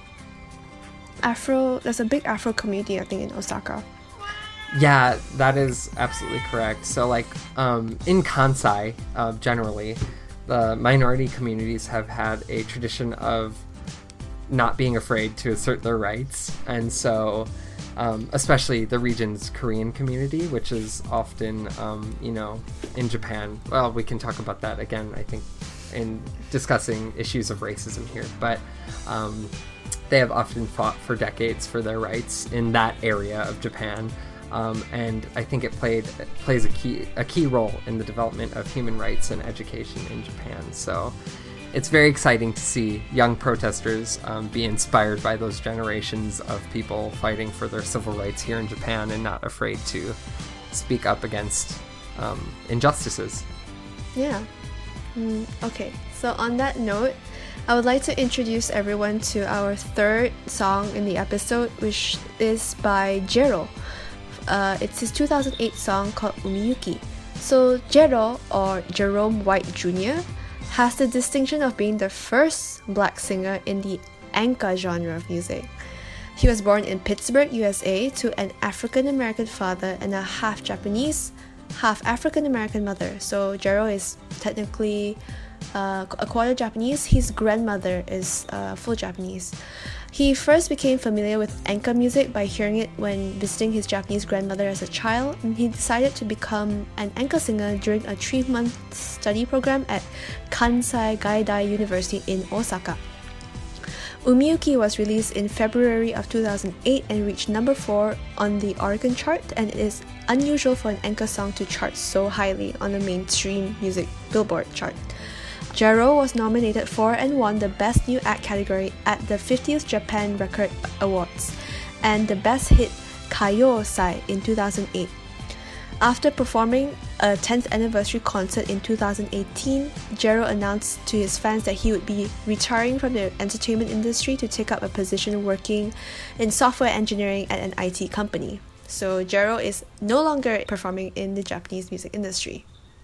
Afro, there's a big Afro community, I think, in Osaka. Yeah, that is absolutely correct. So, like, um, in Kansai, uh, generally, the minority communities have had a tradition of not being afraid to assert their rights. And so, um, especially the region's Korean community, which is often, um, you know, in Japan. Well, we can talk about that again, I think, in discussing issues of racism here. But um, they have often fought for decades for their rights in that area of Japan. Um, and I think it played it plays a key a key role in the development of human rights and education in Japan. So it's very exciting to see young protesters um, be inspired by those generations of people fighting for their civil rights here in Japan and not afraid to speak up against um, injustices. Yeah. Mm, okay, so on that note, I would like to introduce everyone to our third song in the episode, which is by Jero. Uh, it's his two thousand eight song called Umiyuki. So Jero, or Jerome White Junior, has the distinction of being the first black singer in the enka genre of music. He was born in Pittsburgh, U S A, to an African-American father and a half Japanese, half African-American mother. So Jero is technically uh, a quarter Japanese. His grandmother is uh, full Japanese. He first became familiar with enka music by hearing it when visiting his Japanese grandmother as a child, and he decided to become an enka singer during a three-month study program at Kansai Gaidai University in Osaka. Umiyuki was released in February of two thousand eight and reached number four on the Oricon chart, and it is unusual for an enka song to chart so highly on the mainstream music Billboard chart. Jero was nominated for and won the Best New Act category at the fiftieth Japan Record Awards and the Best Hit Kaiyosai in two thousand eight. After performing a tenth anniversary concert in two thousand eighteen, Jero announced to his fans that he would be retiring from the entertainment industry to take up a position working in software engineering at an I T company. So Jero is no longer performing in the Japanese music industry.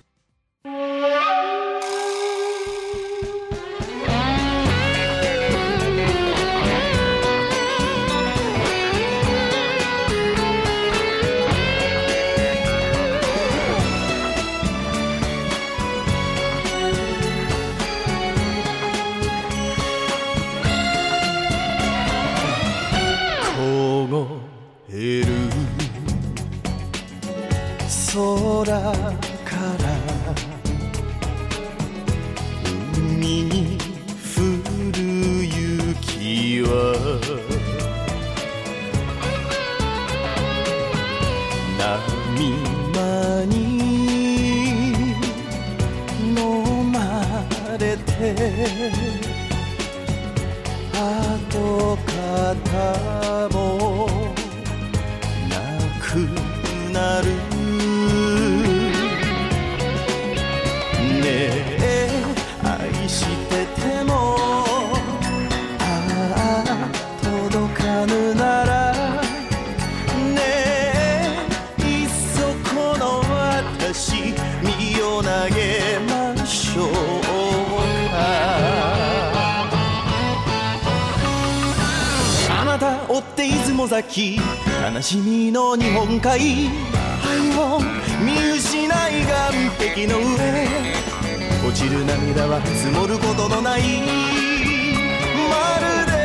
悲しみの日本海、愛を見失い岸壁の上、落ちる涙は積もることのない、まるで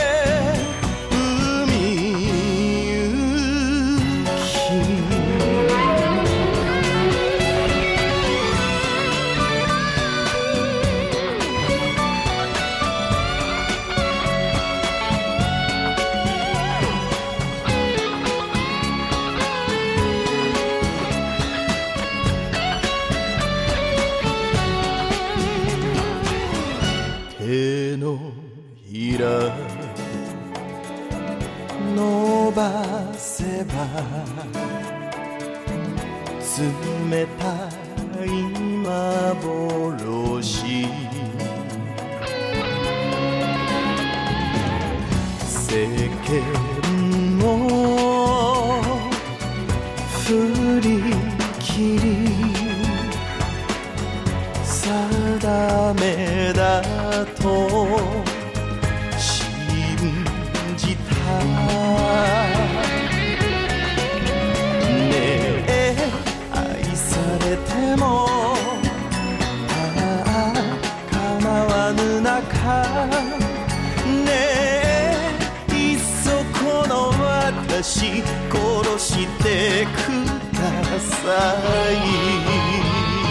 海行き。伸ばせば冷たい幻、世間を振り切り定めだとねえ愛されてもああ構わぬ中、ねえいっそこの私殺してください。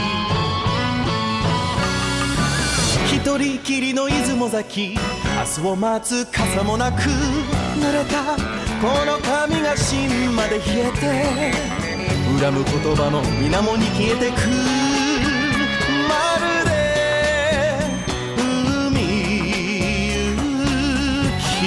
一人きりの出雲崎、明日を待つ傘もなく、濡れたこの髪が芯まで冷えて、恨む言葉も水面に消えてく、まるで海行き。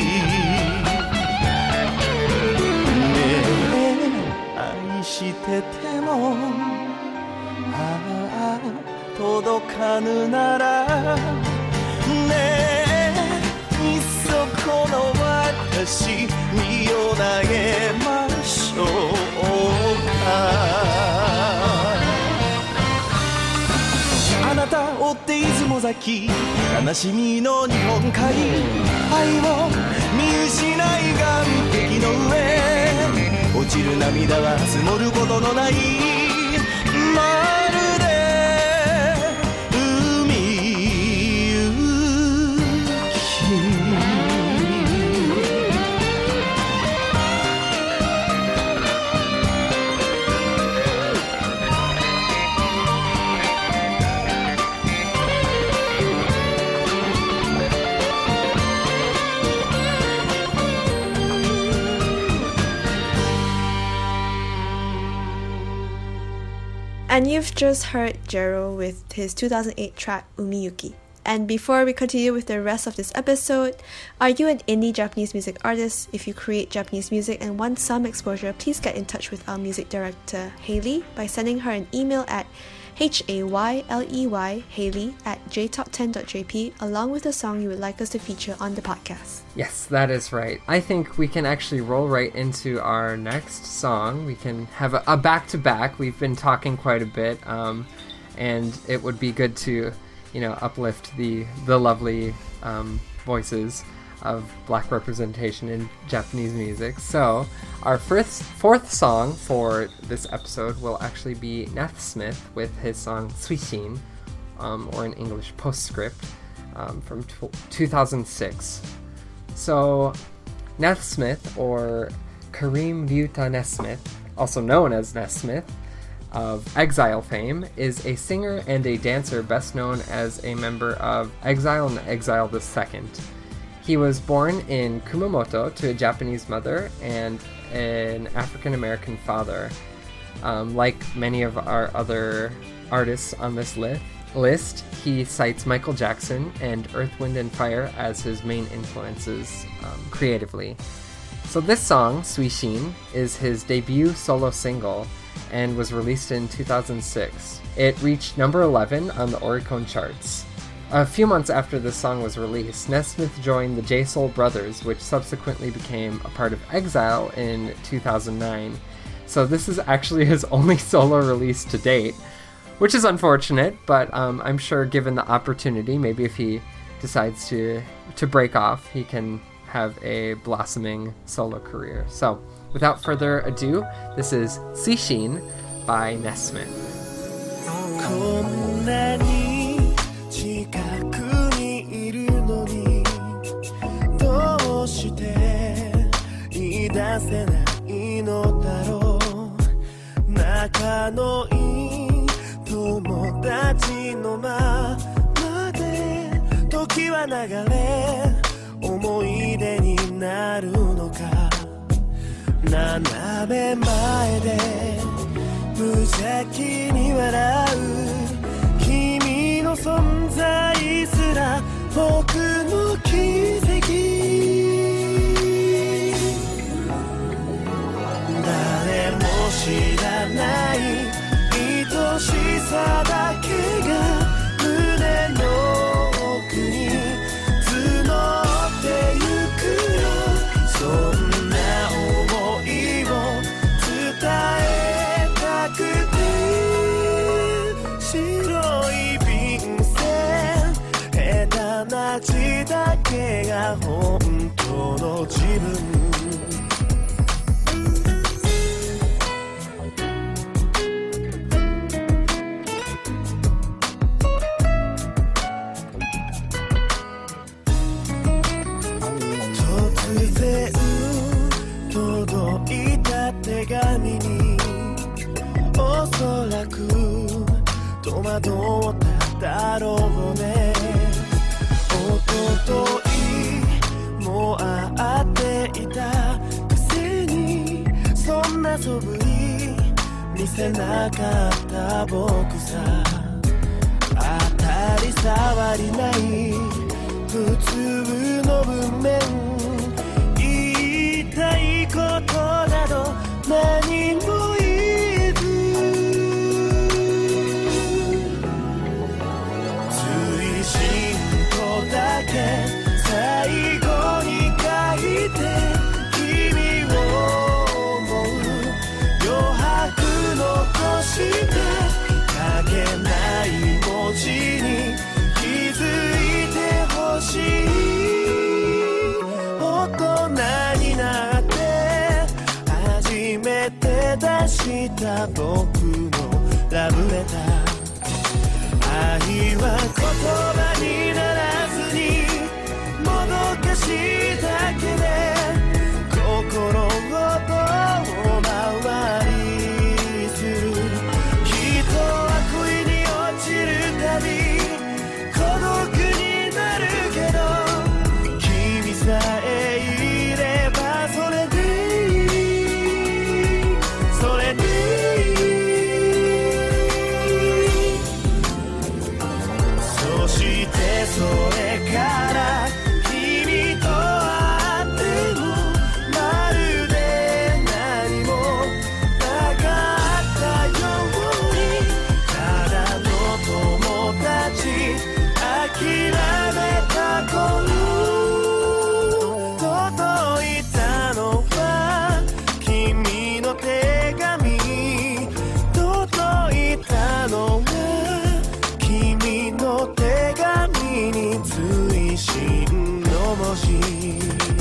ねえ愛しててもああ届かぬなら、ねえいっそこの私身を投げましょうか。あなた追って出雲崎、悲しみの日本海、愛を見失い岸壁の上、落ちる涙は積もることのない、まるで海 And you've just heard Jero with his two thousand eight track Umiyuki. And before we continue with the rest of this episode, are you an indie Japanese music artist? If you create Japanese music and want some exposure, please get in touch with our music director, Hayley, by sending her an email at H A Y L E Y, Hayley, at j top ten dot j p, along with the song you would like us to feature on the podcast. Yes, that is right. I think we can actually roll right into our next song. We can have a, a back-to-back. We've been talking quite a bit, um, and it would be good to, you know, uplift the the lovely um, voices of Black representation in Japanese music. So our first fourth song for this episode will actually be Nathsmith with his song Suishin, um, or in English Postscript, um, from t- two thousand six. So Nathsmith, or Kareem Ryuta Nesmith, also known as Nesmith, of Exile fame, is a singer and a dancer best known as a member of Exile and Exile the Second. He was born in Kumamoto to a Japanese mother and an African-American father. Um, like many of our other artists on this li- list, he cites Michael Jackson and Earth, Wind and Fire as his main influences um, creatively. So this song, Suishin, is his debut solo single and was released in two thousand six. It reached number eleven on the Oricon charts. A few months after this song was released, Nesmith joined the J-Soul Brothers, which subsequently became a part of Exile in two thousand nine. So this is actually his only solo release to date, which is unfortunate, but um, I'm sure given the opportunity, maybe if he decides to, to break off, he can have a blossoming solo career. So without further ado, this is Suishin by Nesmith. こんなに近くにいるのにどうして言い出せないのだろう仲のいい友達のままで時は流れ思い出になるのか斜め前で無邪気に笑う君の存在すら僕の奇跡誰も知らない愛しさだけが胸の奥に募ってゆくよそんな想いを伝えたくて白い便箋下手な字だけが本当の自分突然届いた手紙におそらく戸惑っただろうねおとといも会っていたくせにそんな素振り見せなかった僕さ当たり障りない普通の文面言いたいことなど何も言えず追伸とだけ最後に書いて君を思う余白残した書けない文字に気づいてほしい大人になって初めて出した僕のラブレター愛は言葉にならずにもどかしいだけで心を遠回りする人は恋に落ちるたび孤独になるけど君さえいればそれでいいそれでいいしい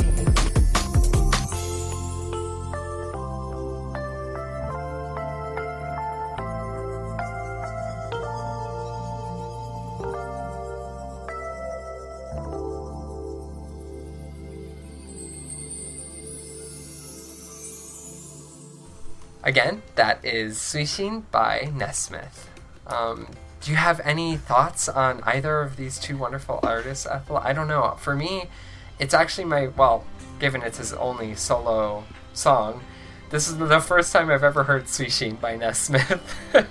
Again, that is Suishin by Nesmith. Um, do you have any thoughts on either of these two wonderful artists, Ethel? I don't know. For me, it's actually my, well, given it's his only solo song, this is the first time I've ever heard Suishin by Nesmith.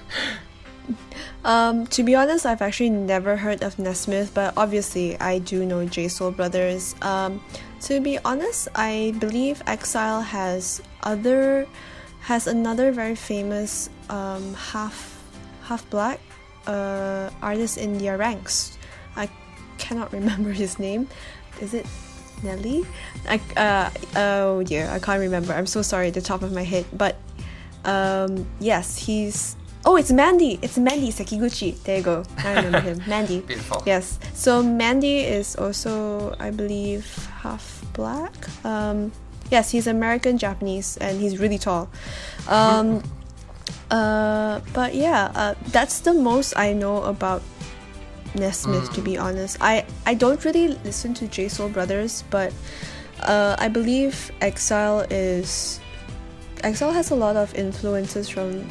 Um, to be honest, I've actually never heard of Nesmith, but obviously I do know J Soul Brothers. Um, to be honest, I believe Exile has other... has another very famous um, half half black uh, artist in their ranks. I cannot remember his name. Is it Nelly? I, uh, oh dear, I can't remember. I'm so sorry at the top of my head. But um, yes, he's... Oh, it's Mandy! It's Mandy Sekiguchi. There you go. I remember him. Mandy. Beautiful. Yes. So Mandy is also, I believe, half black. Um... Yes, he's American Japanese and he's really tall. Um, uh, but yeah, uh, that's the most I know about Nesmith, mm. to be honest. I, I don't really listen to J Soul Brothers, but uh, I believe Exile is... Exile has a lot of influences from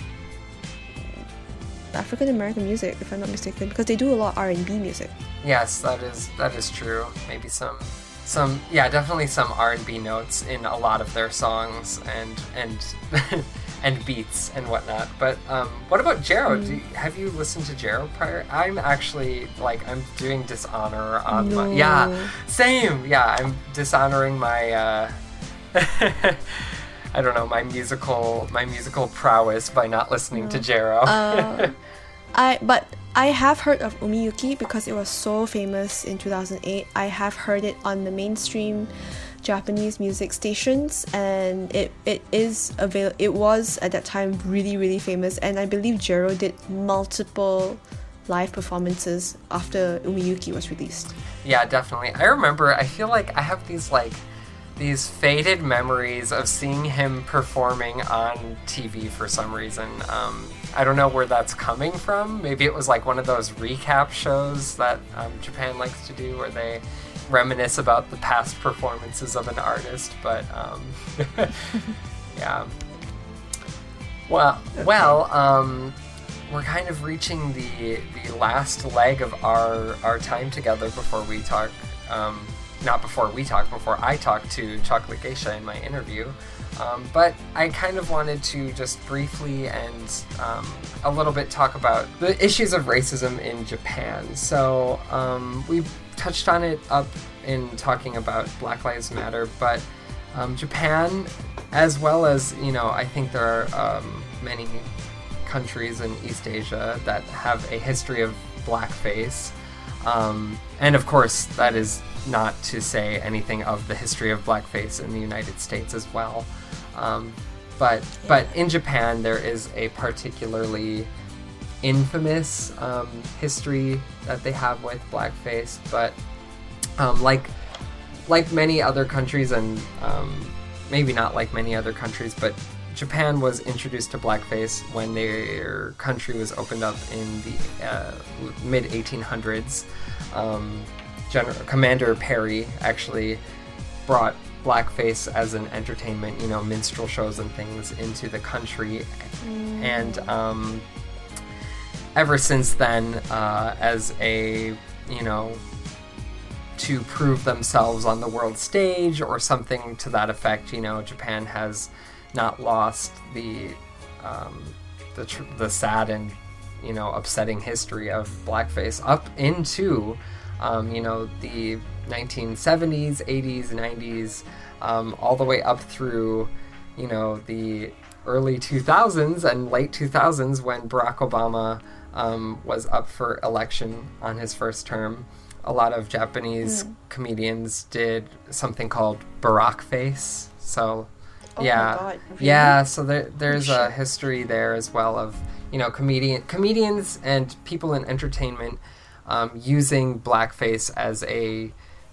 African American music, if I'm not mistaken, because they do a lot of R and B music. Yes, that is that is true. Maybe some... Some yeah, definitely some R and B notes in a lot of their songs and and and beats and whatnot. But um, what about Jero? Mm. Do you, have you listened to Jero prior? I'm actually like I'm doing dishonor on no. my yeah same yeah I'm dishonoring my uh, I don't know my musical my musical prowess by not listening no. to Jero. uh, I but. I have heard of Umiyuki because it was so famous in two thousand eight. I have heard it on the mainstream Japanese music stations, and it, it is avail- It was at that time really really famous, and I believe Jero did multiple live performances after Umiyuki was released. Yeah, definitely. I remember. I feel like I have these like these faded memories of seeing him performing on T V for some reason. Um, I don't know where that's coming from. Maybe it was like one of those recap shows that um, Japan likes to do where they reminisce about the past performances of an artist. But um, yeah. Well, well, um, we're kind of reaching the the last leg of our our time together before we talk. Um, not before we talk, before I talk to Chocolate Geisha in my interview. Um, but I kind of wanted to just briefly and um, a little bit talk about the issues of racism in Japan. So um, we touched on it up in talking about Black Lives Matter, but um, Japan, as well as, you know, I think there are um, many countries in East Asia that have a history of blackface. Um, and of course, that is not to say anything of the history of blackface in the United States as well. Um, but yeah. but in Japan, there is a particularly infamous um, history that they have with blackface. But um, like like many other countries, and um, maybe not like many other countries, but Japan was introduced to blackface when their country was opened up in the uh, mid eighteen hundreds. Um, General Commander Perry actually brought blackface as an entertainment, you know, minstrel shows and things into the country. Mm. And um, ever since then, uh, as a, you know, to prove themselves on the world stage or something to that effect, you know, Japan has not lost the um, the tr- the sad and, you know, upsetting history of blackface up into, um, you know, the nineteen seventies, eighties, nineties, um, all the way up through, you know, the early two thousands and late two thousands when Barack Obama um, was up for election on his first term. A lot of Japanese mm. comedians did something called Barack face. So, oh yeah, my God, really? yeah. So there, there's a history there as well of, you know, comedian comedians and people in entertainment um, using blackface as a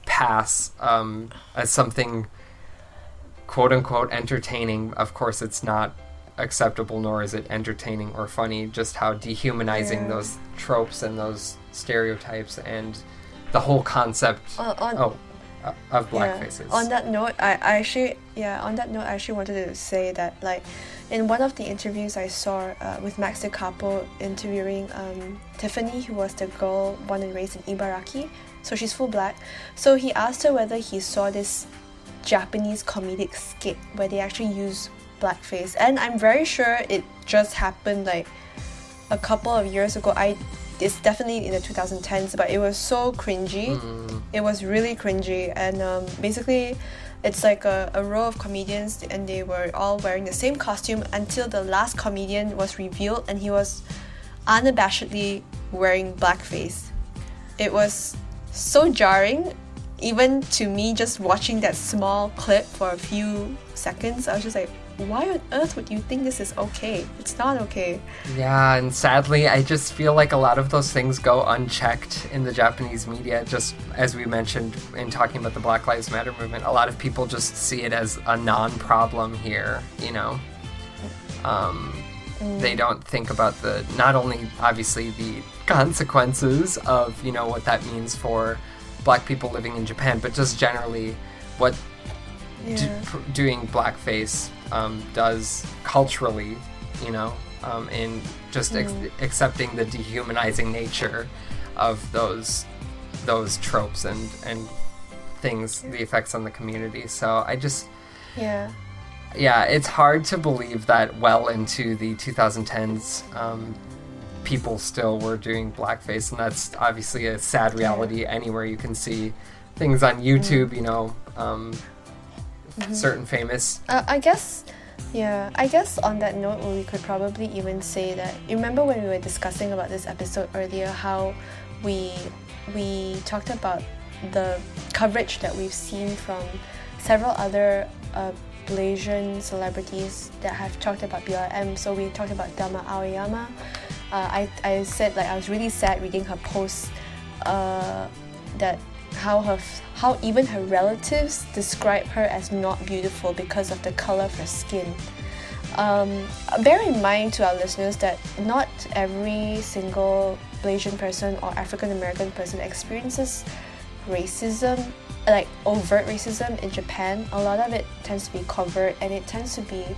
pass um, as something quote unquote entertaining. Of course, it's not acceptable, nor is it entertaining or funny, just how dehumanizing Yeah. those tropes and those stereotypes and the whole concept On, on, oh uh, of black yeah. faces. On that note, I, I actually yeah on that note I actually wanted to say that, like, in one of the interviews I saw uh, with Max De Capo interviewing um, Tiffany, who was the girl born and raised in Ibaraki, so she's full black. So he asked her whether he saw this Japanese comedic skit where they actually use blackface, and I'm very sure it just happened like a couple of years ago. I it's definitely in the twenty tens, but it was so cringy. Mm. It was really cringy, and um, basically it's like a, a row of comedians, and they were all wearing the same costume until the last comedian was revealed, and he was unabashedly wearing blackface. It was so jarring, even to me, just watching that small clip for a few seconds. I was just like, why on earth would you think this is okay? It's not okay. Yeah, and sadly, I just feel like a lot of those things go unchecked in the Japanese media. Just as we mentioned in talking about the Black Lives Matter movement, a lot of people just see it as a non-problem here, you know? Um, Mm. They don't think about the, not only obviously the consequences of, you know, what that means for black people living in Japan, but just generally what Yeah. d- pr- doing blackface um, does culturally, you know, um, in just ex- Mm. accepting the dehumanizing nature of those those tropes and and things, the effects on the community. So I just, Yeah. yeah, it's hard to believe that well into the twenty tens, um, people still were doing blackface, and that's obviously a sad reality anywhere you can see things on YouTube, you know, um, certain famous. Uh, I guess, yeah, I guess on that note, we could probably even say that, you remember when we were discussing about this episode earlier, how we we talked about the coverage that we've seen from several other uh, Malaysian celebrities that have talked about B L M. So we talked about Thelma Aoyama. Uh, I, I said, like, I was really sad reading her post uh, that how her how even her relatives describe her as not beautiful because of the color of her skin. Um, bear in mind to our listeners that not every single Malaysian person or African American person experiences racism, like overt racism in Japan. A lot of it tends to be covert, and it tends to be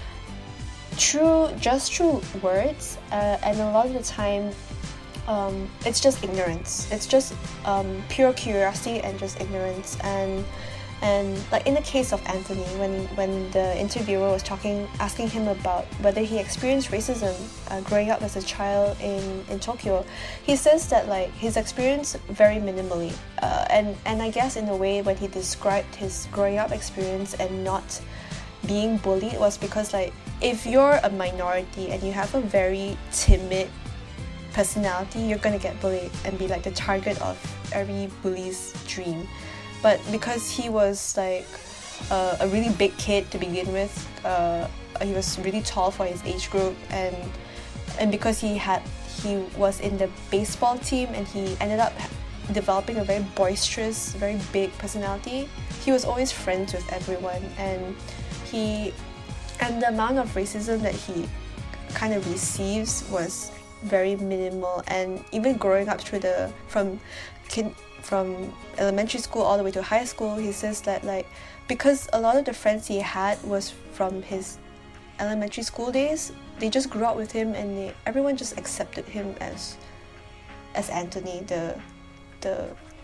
true, just true words, uh, and a lot of the time um, it's just ignorance. It's just um, pure curiosity and just ignorance. And and like in the case of Anthony, when when the interviewer was talking, asking him about whether he experienced racism uh, growing up as a child in, in Tokyo, he says that like his experience very minimally, uh, and and I guess in a way when he described his growing up experience and not being bullied was because, like, if you're a minority and you have a very timid personality, you're gonna get bullied and be like the target of every bully's dream. But because he was like uh, a really big kid to begin with, uh, he was really tall for his age group, and and because he had he was in the baseball team and he ended up developing a very boisterous, very big personality, he was always friends with everyone, and he and the amount of racism that he kind of receives was very minimal. And even growing up through the from kin, from elementary school all the way to high school, he says that like because a lot of the friends he had was from his elementary school days, they just grew up with him, and they, everyone just accepted him as as Anthony, the the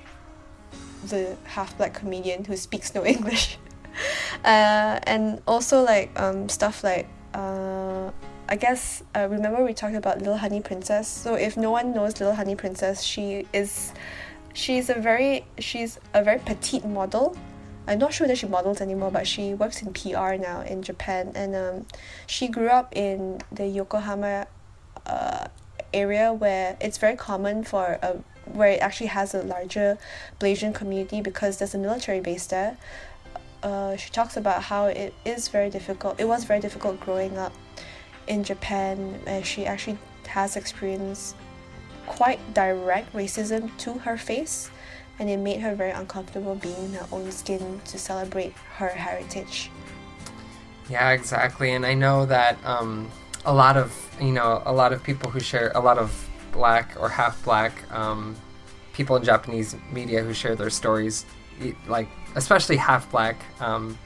the half black comedian who speaks no English. Uh, and also like um, stuff like uh, I guess uh, remember we talked about Little Honey Princess. So if no one knows Little Honey Princess, she is she's a very she's a very petite model. I'm not sure that she models anymore, but she works in P R now in Japan, and um, she grew up in the Yokohama uh, area where it's very common for a where it actually has a larger Malaysian community because there's a military base there. Uh, she talks about how it is very difficult. It was very difficult growing up in Japan, where she actually has experienced quite direct racism to her face, and it made her very uncomfortable being in her own skin to celebrate her heritage. Yeah, exactly. And I know that um, a lot of, you know, a lot of people who share, a lot of black or half black um, people in Japanese media who share their stories, like especially half black um,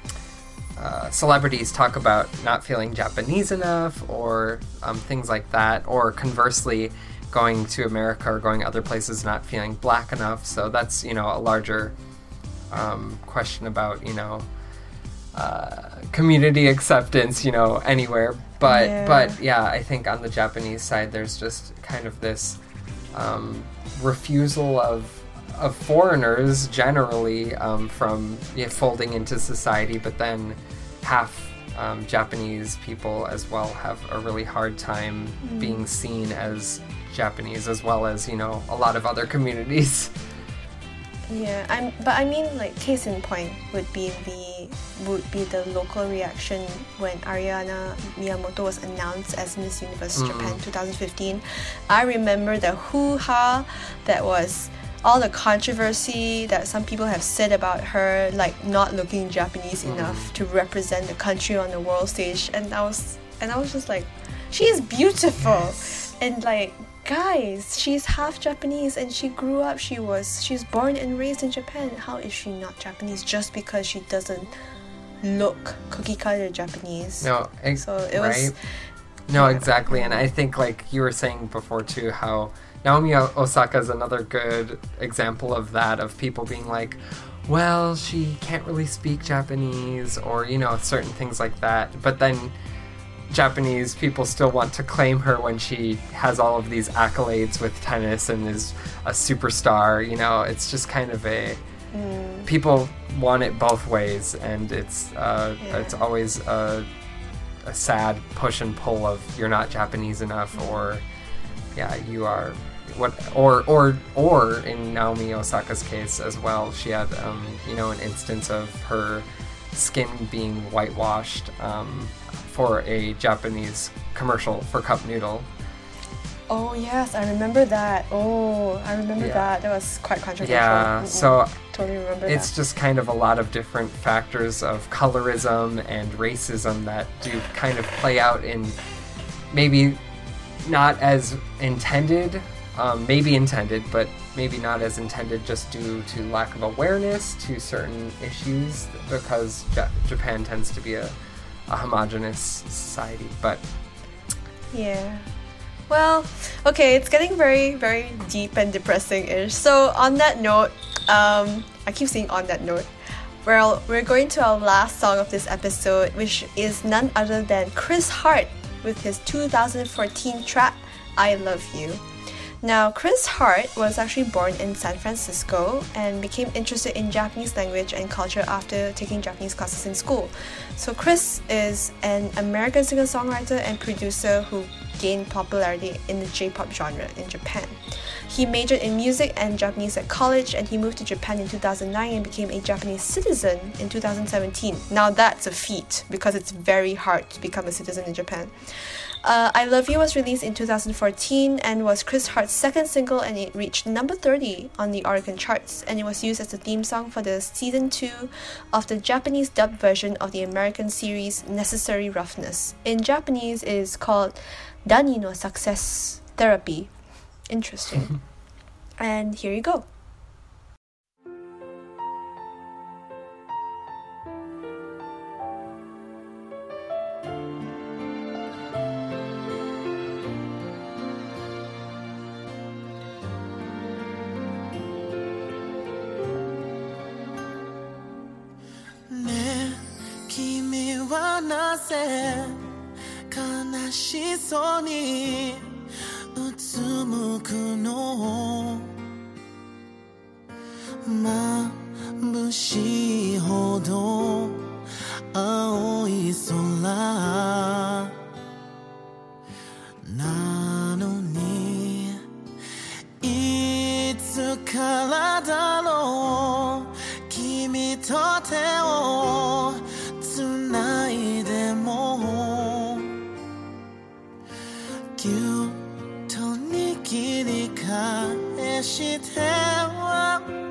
uh, celebrities talk about not feeling Japanese enough or um, things like that, or conversely going to America or going other places not feeling black enough. So that's, you know, a larger um, question about, you know, uh, community acceptance, you know, anywhere. But yeah. but yeah, I think on the Japanese side, there's just kind of this um, refusal of of foreigners generally um, from yeah, folding into society, but then half um, Japanese people as well have a really hard time mm. being seen as Japanese, as well as, you know, a lot of other communities. Yeah, I'm. But I mean, like, case in point would be the would be the local reaction when Ariana Miyamoto was announced as Miss Universe mm. Japan twenty fifteen. I remember the hoo-ha that was, all the controversy that some people have said about her, like not looking Japanese mm. enough to represent the country on the world stage, and I was and I was just like, she is beautiful, yes. and like. Guys, she's half Japanese and she grew up, she was, she's born and raised in Japan. How is she not Japanese just because she doesn't look cookie cutter Japanese? No, ex- so it right? was... No, yeah. exactly. And I think, like you were saying before too, how Naomi Osaka is another good example of that, of people being like, well, she can't really speak Japanese, or, you know, certain things like that. But then Japanese people still want to claim her when she has all of these accolades with tennis and is a superstar. You know, it's just kind of a mm. people want it both ways, and it's uh, yeah. it's always a, a sad push and pull of you're not Japanese enough, or yeah, you are what, or or or in Naomi Osaka's case as well, she had um, you know, an instance of her skin being whitewashed um, for a Japanese commercial for Cup Noodle. Oh yes, I remember that. Oh, I remember yeah. that. That was quite controversial. Yeah, Mm-mm. so totally remember it's that. just kind of a lot of different factors of colorism and racism that do kind of play out in maybe not as intended, um, maybe intended, but maybe not as intended just due to lack of awareness to certain issues, because Ja- Japan tends to be a a homogenous society. But yeah, well, okay, it's getting very very deep and depressing-ish. So on that note, um I keep saying on that note, well, we're going to our last song of this episode, which is none other than Chris Hart with his two thousand fourteen track I Love You. Now, Chris Hart was actually born in San Francisco and became interested in Japanese language and culture after taking Japanese classes in school. So Chris is an American singer-songwriter and producer who gained popularity in the J-pop genre in Japan. He majored in music and Japanese at college, and he moved to Japan in two thousand nine and became a Japanese citizen in two thousand seventeen. Now that's a feat, because it's very hard to become a citizen in Japan. Uh, I Love You was released in two thousand fourteen and was Chris Hart's second single, and it reached number thirty on the Oricon charts, and it was used as the theme song for the season two of the Japanese dubbed version of the American series Necessary Roughness. In Japanese, it is called Dani no Success Therapy. Interesting. And here you go. なぜ悲しそうにうつむくの眩しいほど青い空なのにいつからだろう君と手をつないでもぎゅっと握り返しては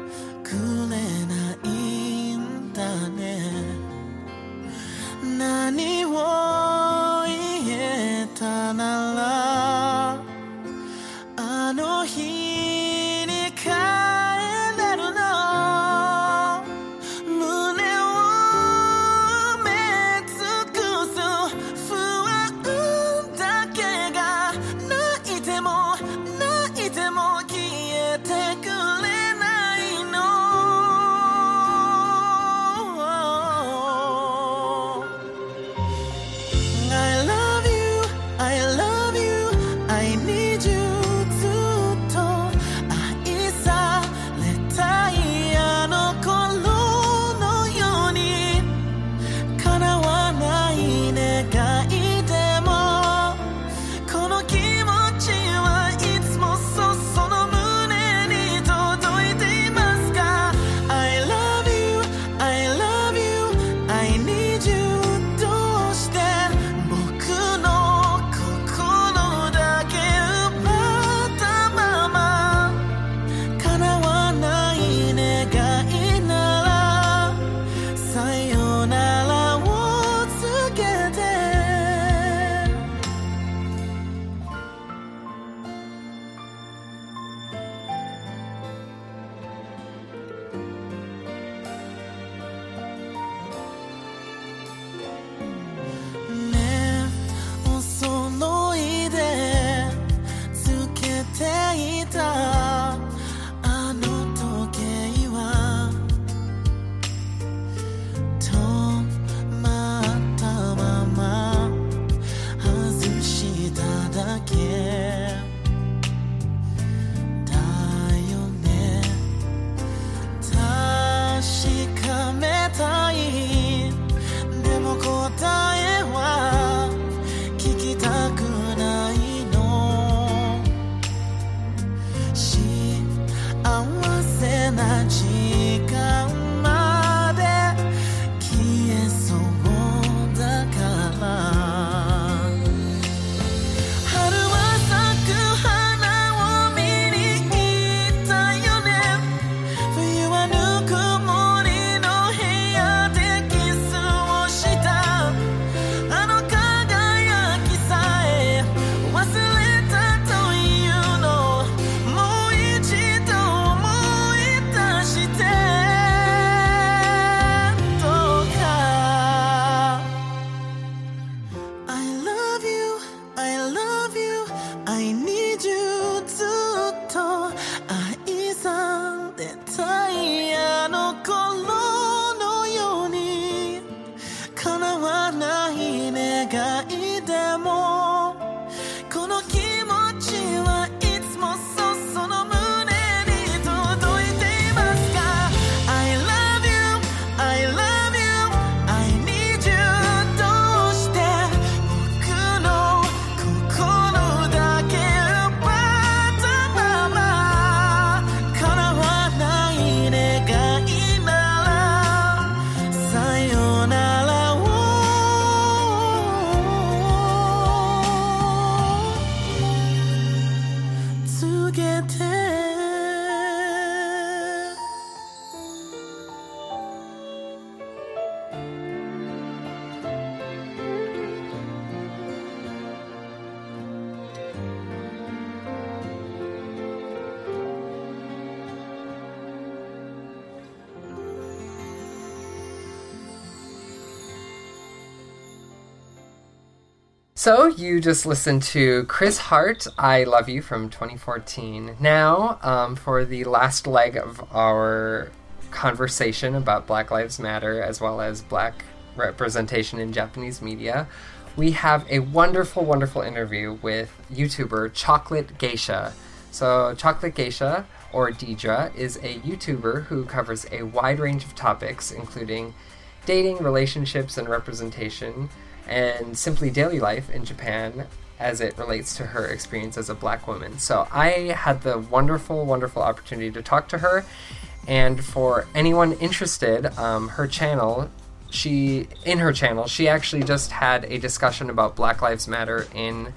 So you just listened to Chris Hart, I Love You from twenty fourteen. Now, um, for the last leg of our conversation about Black Lives Matter as well as Black representation in Japanese media, we have a wonderful, wonderful interview with YouTuber Chocolate Geisha. So Chocolate Geisha, or Deidre, is a YouTuber who covers a wide range of topics, including dating, relationships, and representation, and simply daily life in Japan as it relates to her experience as a Black woman. So I had the wonderful, wonderful opportunity to talk to her, and for anyone interested, um, her channel, she, in her channel, she actually just had a discussion about Black Lives Matter in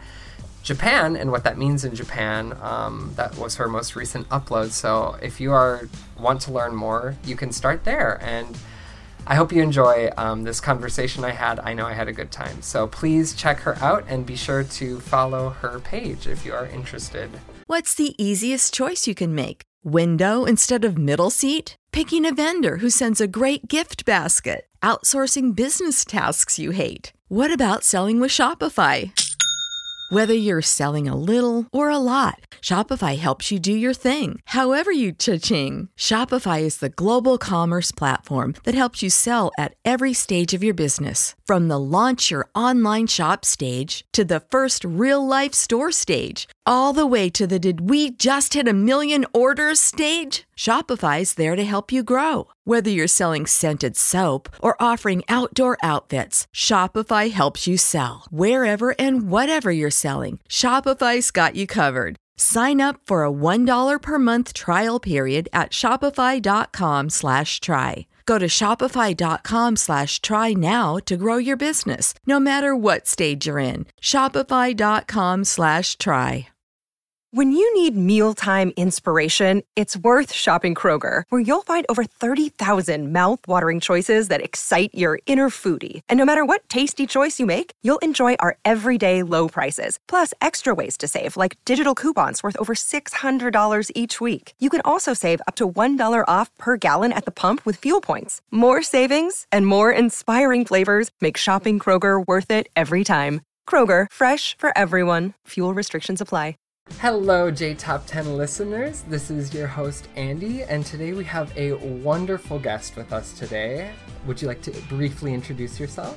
Japan and what that means in Japan. Um, that was her most recent upload. So if you are want to learn more, you can start there. And I hope you enjoy um, this conversation I had. I know I had a good time. So please check her out and be sure to follow her page if you are interested. What's the easiest choice you can make? Window instead of middle seat? Picking a vendor who sends a great gift basket? Outsourcing business tasks you hate? What about selling with Shopify? Whether you're selling a little or a lot, Shopify helps you do your thing, however you cha-ching. Shopify is the global commerce platform that helps you sell at every stage of your business. From the launch your online shop stage to the first real-life store stage, all the way to the did we just hit a million orders stage? Shopify's there to help you grow. Whether you're selling scented soap or offering outdoor outfits, Shopify helps you sell. Wherever and whatever you're selling, Shopify's got you covered. Sign up for a one dollar per month trial period at shopify.com slash try. Go to shopify.com slash try now to grow your business, no matter what stage you're in. Shopify.com slash try. When you need mealtime inspiration, it's worth shopping Kroger, where you'll find over thirty thousand mouth-watering choices that excite your inner foodie. And no matter what tasty choice you make, you'll enjoy our everyday low prices, plus extra ways to save, like digital coupons worth over six hundred dollars each week. You can also save up to one dollar off per gallon at the pump with fuel points. More savings and more inspiring flavors make shopping Kroger worth it every time. Kroger, fresh for everyone. Fuel restrictions apply. Hello, J Top ten listeners. This is your host, Andy, and today we have a wonderful guest with us today. Would you like to briefly introduce yourself?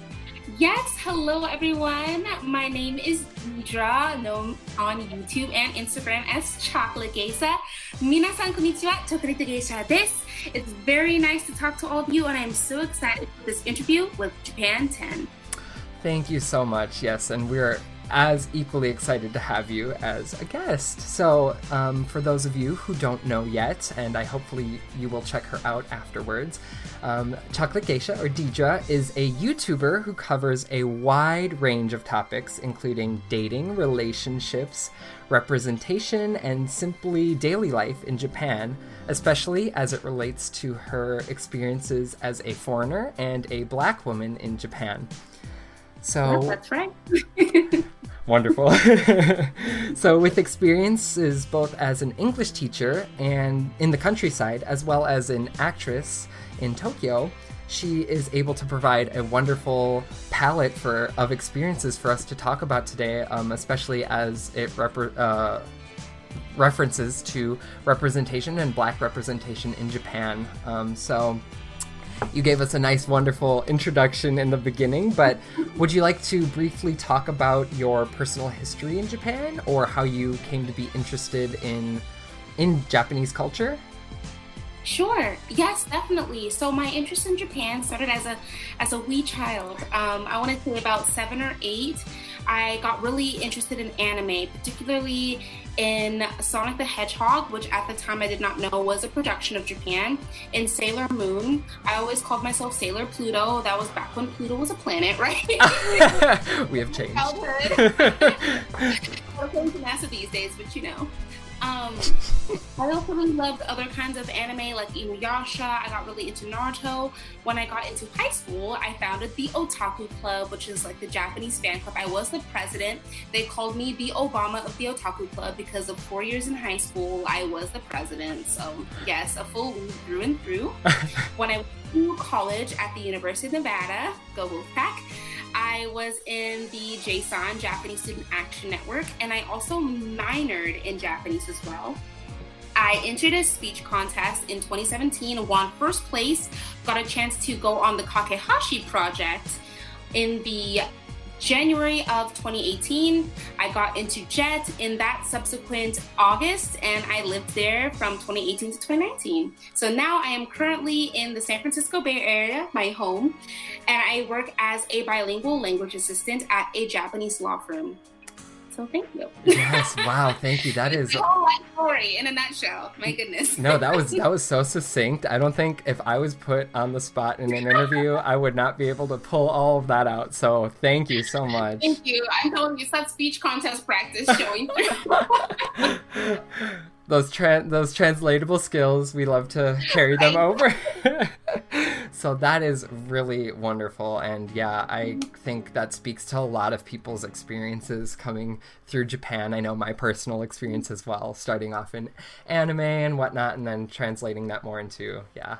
Yes, hello everyone. My name is Deidre, known on YouTube and Instagram as Chocolate Geisha. Minasan konnichiwa, Chocolate Geisha desu. It's very nice to talk to all of you, and I'm so excited for this interview with Japan ten. Thank you so much. Yes, and we're as equally excited to have you as a guest. So um, for those of you who don't know yet, and I hopefully you will check her out afterwards, um, Chocolate Geisha, or Deidre, is a YouTuber who covers a wide range of topics, including dating, relationships, representation, and simply daily life in Japan, especially as it relates to her experiences as a foreigner and a Black woman in Japan. So Yes, that's right. Wonderful. So with experiences both as an English teacher and in the countryside, as well as an actress in Tokyo, she is able to provide a wonderful palette for of experiences for us to talk about today, um, especially as it rep- uh, references to representation and Black representation in Japan. Um, so you gave us a nice, wonderful introduction in the beginning, but would you like to briefly talk about your personal history in Japan, or how you came to be interested in in Japanese culture? Sure. Yes, definitely. So my interest in Japan started as a as a wee child. Um, I want to say about seven or eight. I got really interested in anime, particularly in Sonic the Hedgehog, which at the time I did not know was a production of Japan, in Sailor Moon. I always called myself Sailor Pluto. That was back when Pluto was a planet, right? We have changed. Childhood. I'm playing to NASA these days, but you know. Um, I also really loved other kinds of anime like Inuyasha. I got really into Naruto. When I got into high school, I founded the Otaku Club, which is like the Japanese fan club. I was the president. They called me the Obama of the Otaku Club because of four years in high school, I was the president. So yes, a full through and through. When I went to college at the University of Nevada, go Wolfpack, I I was in the J S A N, Japanese Student Action Network, and I also minored in Japanese as well. I entered a speech contest in twenty seventeen, won first place, got a chance to go on the Kakehashi project in the January of twenty eighteen. I got into JET in that subsequent August, and I lived there from twenty eighteen to twenty nineteen. So now I am currently in the San Francisco Bay Area, my home, and I work as a bilingual language assistant at a Japanese law firm. So thank you. Yes, wow, thank you. That is a whole life story in a nutshell. My goodness. No, that was that was so succinct. I don't think if I was put on the spot in an interview, I would not be able to pull all of that out. So thank you so much. Thank you. I'm telling you, it's that speech contest practice showing through. Those tra- those translatable skills, we love to carry them over. So that is really wonderful. And yeah, I think that speaks to a lot of people's experiences coming through Japan. I know my personal experience as well, starting off in anime and whatnot, and then translating that more into, yeah,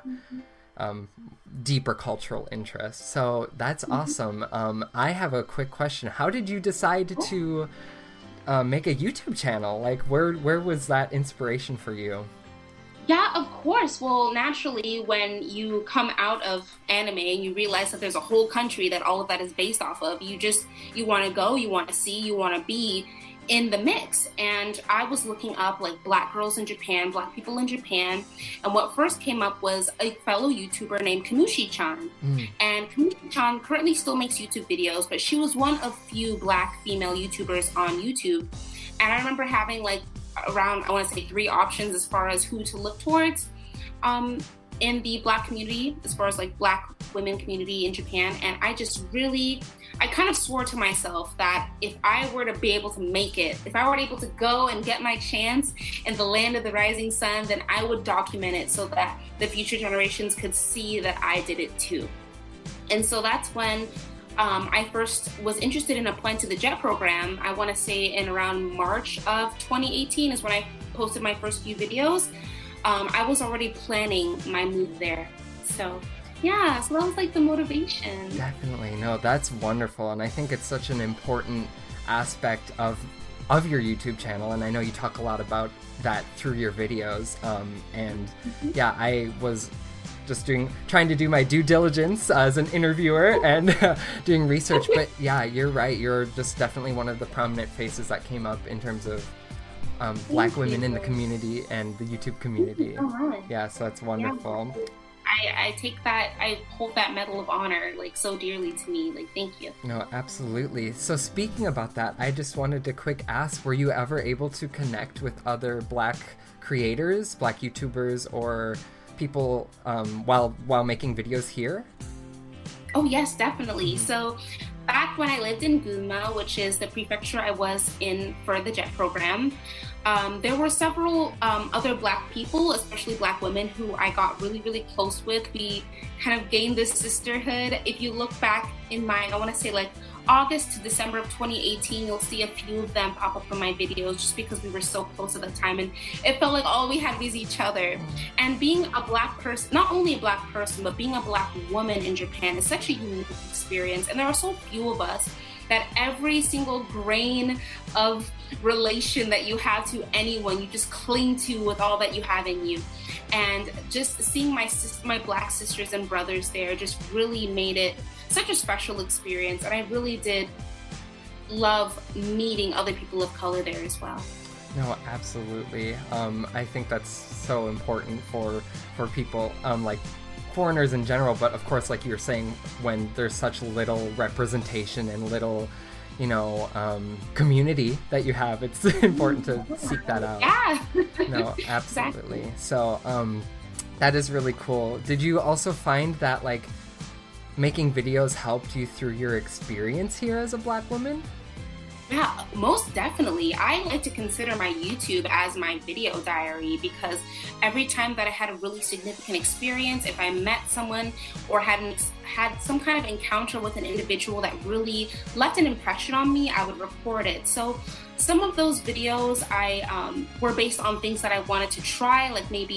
um, deeper cultural interests. So that's awesome. Um, I have a quick question. How did you decide to uh, make a YouTube channel? Like, where where was that inspiration for you? Yeah, of course. Well, naturally, when you come out of anime and you realize that there's a whole country that all of that is based off of, you just, you want to go, you want to see, you want to be in the mix. And I was looking up like Black girls in Japan, Black people in Japan. And what first came up was a fellow YouTuber named Kamushi-chan. Mm. And Kamushi-chan currently still makes YouTube videos, but she was one of few Black female YouTubers on YouTube. And I remember having like around, I want to say three options as far as who to look towards um, in the Black community, as far as like Black women community in Japan. And I just really, I kind of swore to myself that if I were to be able to make it, if I were able to go and get my chance in the land of the rising sun, then I would document it so that the future generations could see that I did it too. And so that's when Um, I first was interested in applying to the JET program. I want to say in around March of twenty eighteen is when I posted my first few videos. Um, I was already planning my move there. So yeah, so that was like the motivation. Definitely. No, that's wonderful. And I think it's such an important aspect of of your YouTube channel. And I know you talk a lot about that through your videos. Um, and mm-hmm. yeah, I was just doing, trying to do my due diligence as an interviewer and uh, doing research. But yeah, you're right. You're just definitely one of the prominent faces that came up in terms of um, Black women in the community and the YouTube community. Oh, yeah, so that's wonderful. Yeah. I, I take that, I hold that Medal of Honor like so dearly to me. Like, thank you. No, absolutely. So speaking about that, I just wanted to quick ask, were you ever able to connect with other Black creators, Black YouTubers, or people um, while while making videos here? Oh yes, definitely. So back when I lived in Gunma, which is the prefecture I was in for the JET program, um, there were several um, other Black people, especially Black women, who I got really, really close with. We kind of gained this sisterhood. If you look back in my, I want to say like August to December of twenty eighteen, you'll see a few of them pop up in my videos just because we were so close at the time, and it felt like all we had was each other. And being a Black person, not only a Black person, but being a Black woman in Japan is such a unique experience, and there are so few of us that every single grain of relation that you have to anyone, you just cling to with all that you have in you. And just seeing my my Black sisters and brothers there just really made it such a special experience, and I really did love meeting other people of color there as well. No, absolutely. Um, I think that's so important for for people, um, like foreigners in general, but of course, like you were saying, when there's such little representation and little, you know, um, community that you have, it's important to seek that out. Yeah. No, absolutely. Exactly. So um, that is really cool. Did you also find that, like, making videos helped you through your experience here as a Black woman? Yeah, most definitely. I like to consider my YouTube as my video diary, because every time that I had a really significant experience, if I met someone or had an, had some kind of encounter with an individual that really left an impression on me, I would record it. So some of those videos I um, were based on things that I wanted to try, like maybe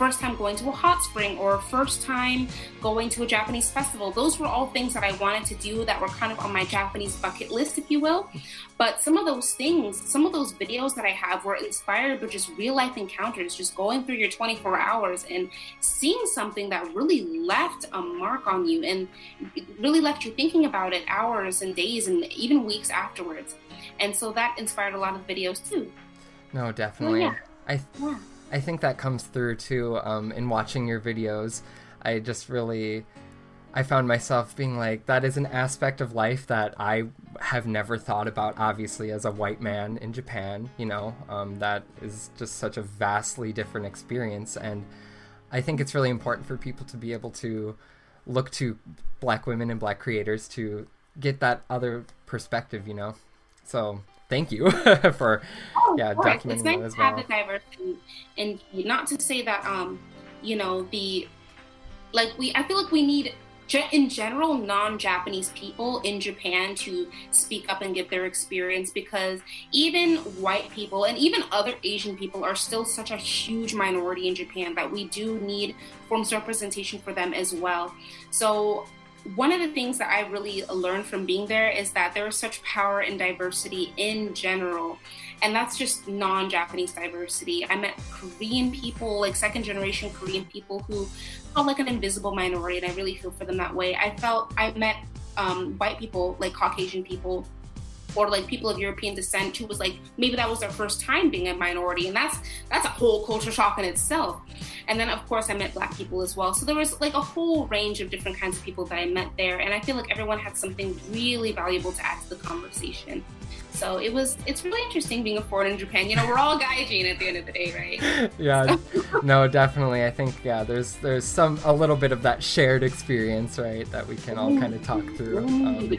first time going to a hot spring or first time going to a Japanese festival. Those were all things that I wanted to do that were kind of on my Japanese bucket list, if you will. But some of those things, some of those videos that I have were inspired by just real life encounters, just going through your twenty-four hours and seeing something that really left a mark on you and it really left you thinking about it hours and days and even weeks afterwards. And so that inspired a lot of videos too. No, definitely. Oh, yeah. I th- yeah. I think that comes through too um, in watching your videos. I just really, I found myself being like, that is an aspect of life that I have never thought about, obviously, as a white man in Japan, you know, um, that is just such a vastly different experience. And I think it's really important for people to be able to look to Black women and Black creators to get that other perspective, you know. So thank you for oh, yeah documenting it's nice that as to well. have the diversity, and not to say that um you know the like we I feel like we need in general non-Japanese people in Japan to speak up and give their experience, because even white people and even other Asian people are still such a huge minority in Japan that we do need forms of representation for them as well. So one of the things that I really learned from being there is that there is such power in diversity in general. And that's just non-Japanese diversity. I met Korean people, like second generation Korean people who felt like an invisible minority, and I really feel for them that way. I felt, I met um, white people, like Caucasian people, or like people of European descent who was like, maybe that was their first time being a minority. And that's that's a whole culture shock in itself. And then of course I met Black people as well. So there was like a whole range of different kinds of people that I met there. And I feel like everyone had something really valuable to add to the conversation. So it was, it's really interesting being a foreigner in Japan. You know, we're all gaijin at the end of the day, right? Yeah, no, definitely. I think, yeah, there's there's some, a little bit of that shared experience, right, that we can all kind of talk through. Um,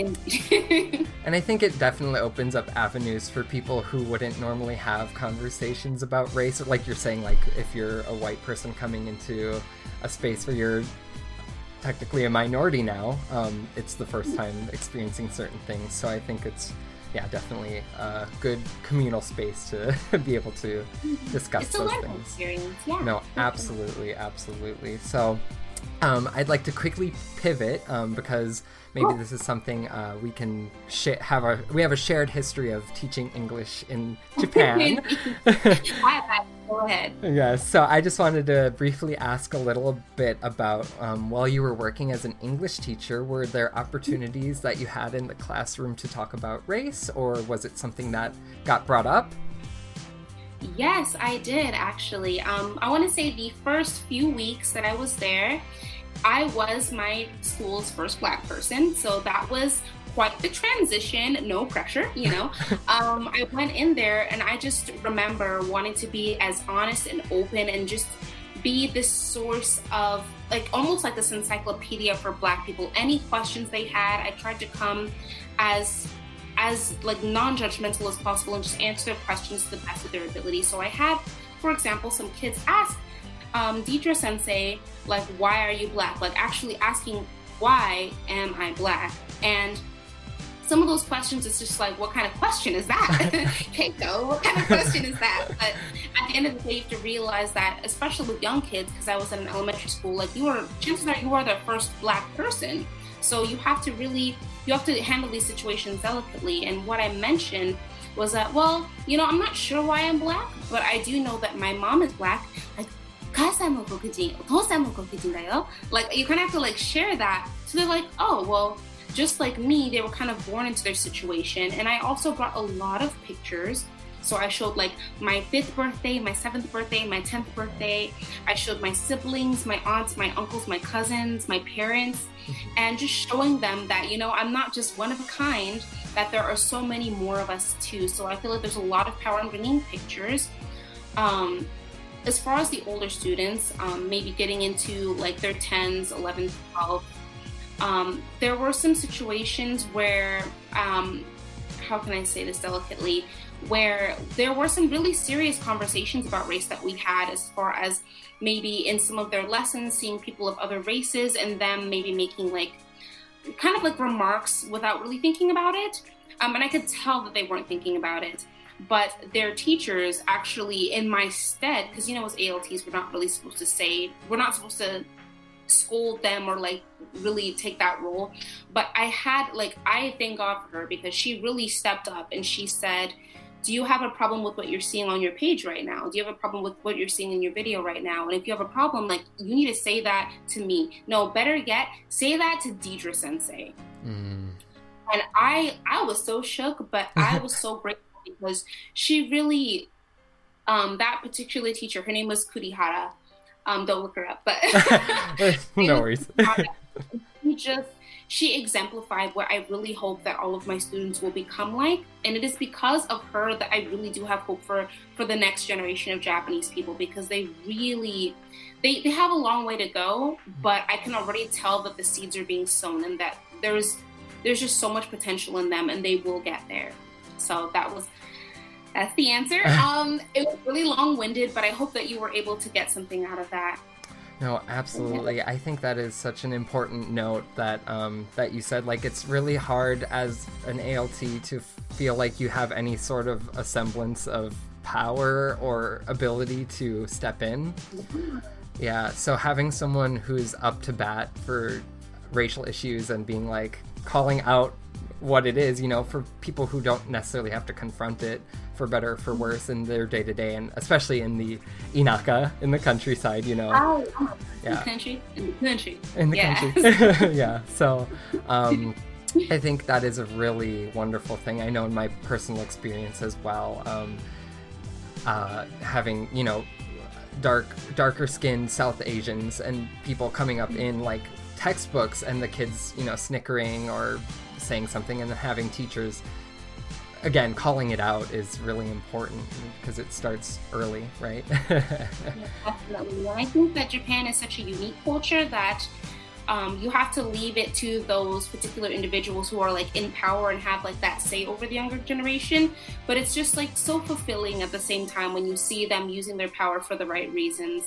and I think it definitely opens up avenues for people who wouldn't normally have conversations about race. Like you're saying, like if you're a white person coming into a space where you're technically a minority now, um, it's the first time experiencing certain things. So I think it's, yeah, definitely a good communal space to be able to discuss it's a those learning things. Experience. Yeah. No, absolutely, absolutely. So um, I'd like to quickly pivot um, because maybe oh. this is something uh, we can sh- have a we have a shared history of teaching English in Japan. Go ahead. Yes, so I just wanted to briefly ask a little bit about um, while you were working as an English teacher, were there opportunities that you had in the classroom to talk about race, or was it something that got brought up? Yes, I did actually. Um, I want to say the first few weeks that I was there, I was my school's first Black person, so that was quite the transition, no pressure, you know. um, I went in there and I just remember wanting to be as honest and open and just be this source of, like, almost like this encyclopedia for Black people. Any questions they had, I tried to come as as like non-judgmental as possible and just answer their questions to the best of their ability. So I had, for example, some kids ask um, Deidre Sensei, like, why are you Black? Like actually asking, why am I Black? And some of those questions, it's just like, what kind of question is that? Keiko, what kind of question is that? But at the end of the day, you have to realize that, especially with young kids, because I was in an elementary school, like you are, chances are you are the first Black person. So you have to really, you have to handle these situations delicately. And what I mentioned was that, well, you know, I'm not sure why I'm Black, but I do know that my mom is Black. Like, like you kind of have to like share that. So they're like, oh, well, just like me, they were kind of born into their situation. And I also brought a lot of pictures. So I showed like my fifth birthday, my seventh birthday, my tenth birthday. I showed my siblings, my aunts, my uncles, my cousins, my parents, and just showing them that, you know, I'm not just one of a kind, that there are so many more of us too. So I feel like there's a lot of power in bringing pictures. Um, as far as the older students, um, maybe getting into like their tens, elevens, twelve, um, there were some situations where, um, how can I say this delicately, where there were some really serious conversations about race that we had, as far as maybe in some of their lessons, seeing people of other races and them maybe making like, kind of like remarks without really thinking about it. Um, and I could tell that they weren't thinking about it. but their teachers actually, in my stead, because you know as A L Ts we're not really supposed to say, we're not supposed to scold them or like really take that role, but I had like, I thank God for her because she really stepped up and she said, do you have a problem with what you're seeing on your page right now? Do you have a problem with what you're seeing in your video right now? And if you have a problem, like, you need to say that to me. No, better yet, say that to Deidre Sensei. Mm. And I I was so shook, but I was so grateful because she really, um, that particular teacher, her name was Kurihara. Um, don't look her up, but no worries. She just, she exemplified what I really hope that all of my students will become like. And it is because of her that I really do have hope for, for the next generation of Japanese people, because they really, they, they have a long way to go, but I can already tell that the seeds are being sown and that there's, there's just so much potential in them and they will get there. So that was, that's the answer. Um, it was really long-winded, but I hope that you were able to get something out of that. No, absolutely. I think that is such an important note that um, that you said. Like, it's really hard as an A L T to feel like you have any sort of a semblance of power or ability to step in. Yeah, so having someone who's up to bat for racial issues and being like, calling out what it is, you know, for people who don't necessarily have to confront it, for better or for worse, in their day-to-day, and especially in the inaka, in the countryside, you know. Oh, oh. Yeah. In the country? In the country. In the yeah. country. Yeah, so um, I think that is a really wonderful thing. I know in my personal experience as well, um, uh, having, you know, dark, darker-skinned South Asians and people coming up in, like, textbooks and the kids, you know, snickering or saying something, and having teachers, again, calling it out is really important because it starts early, right? Yeah, definitely. And I think that Japan is such a unique culture that um, you have to leave it to those particular individuals who are like in power and have like that say over the younger generation. But it's just like so fulfilling at the same time when you see them using their power for the right reasons.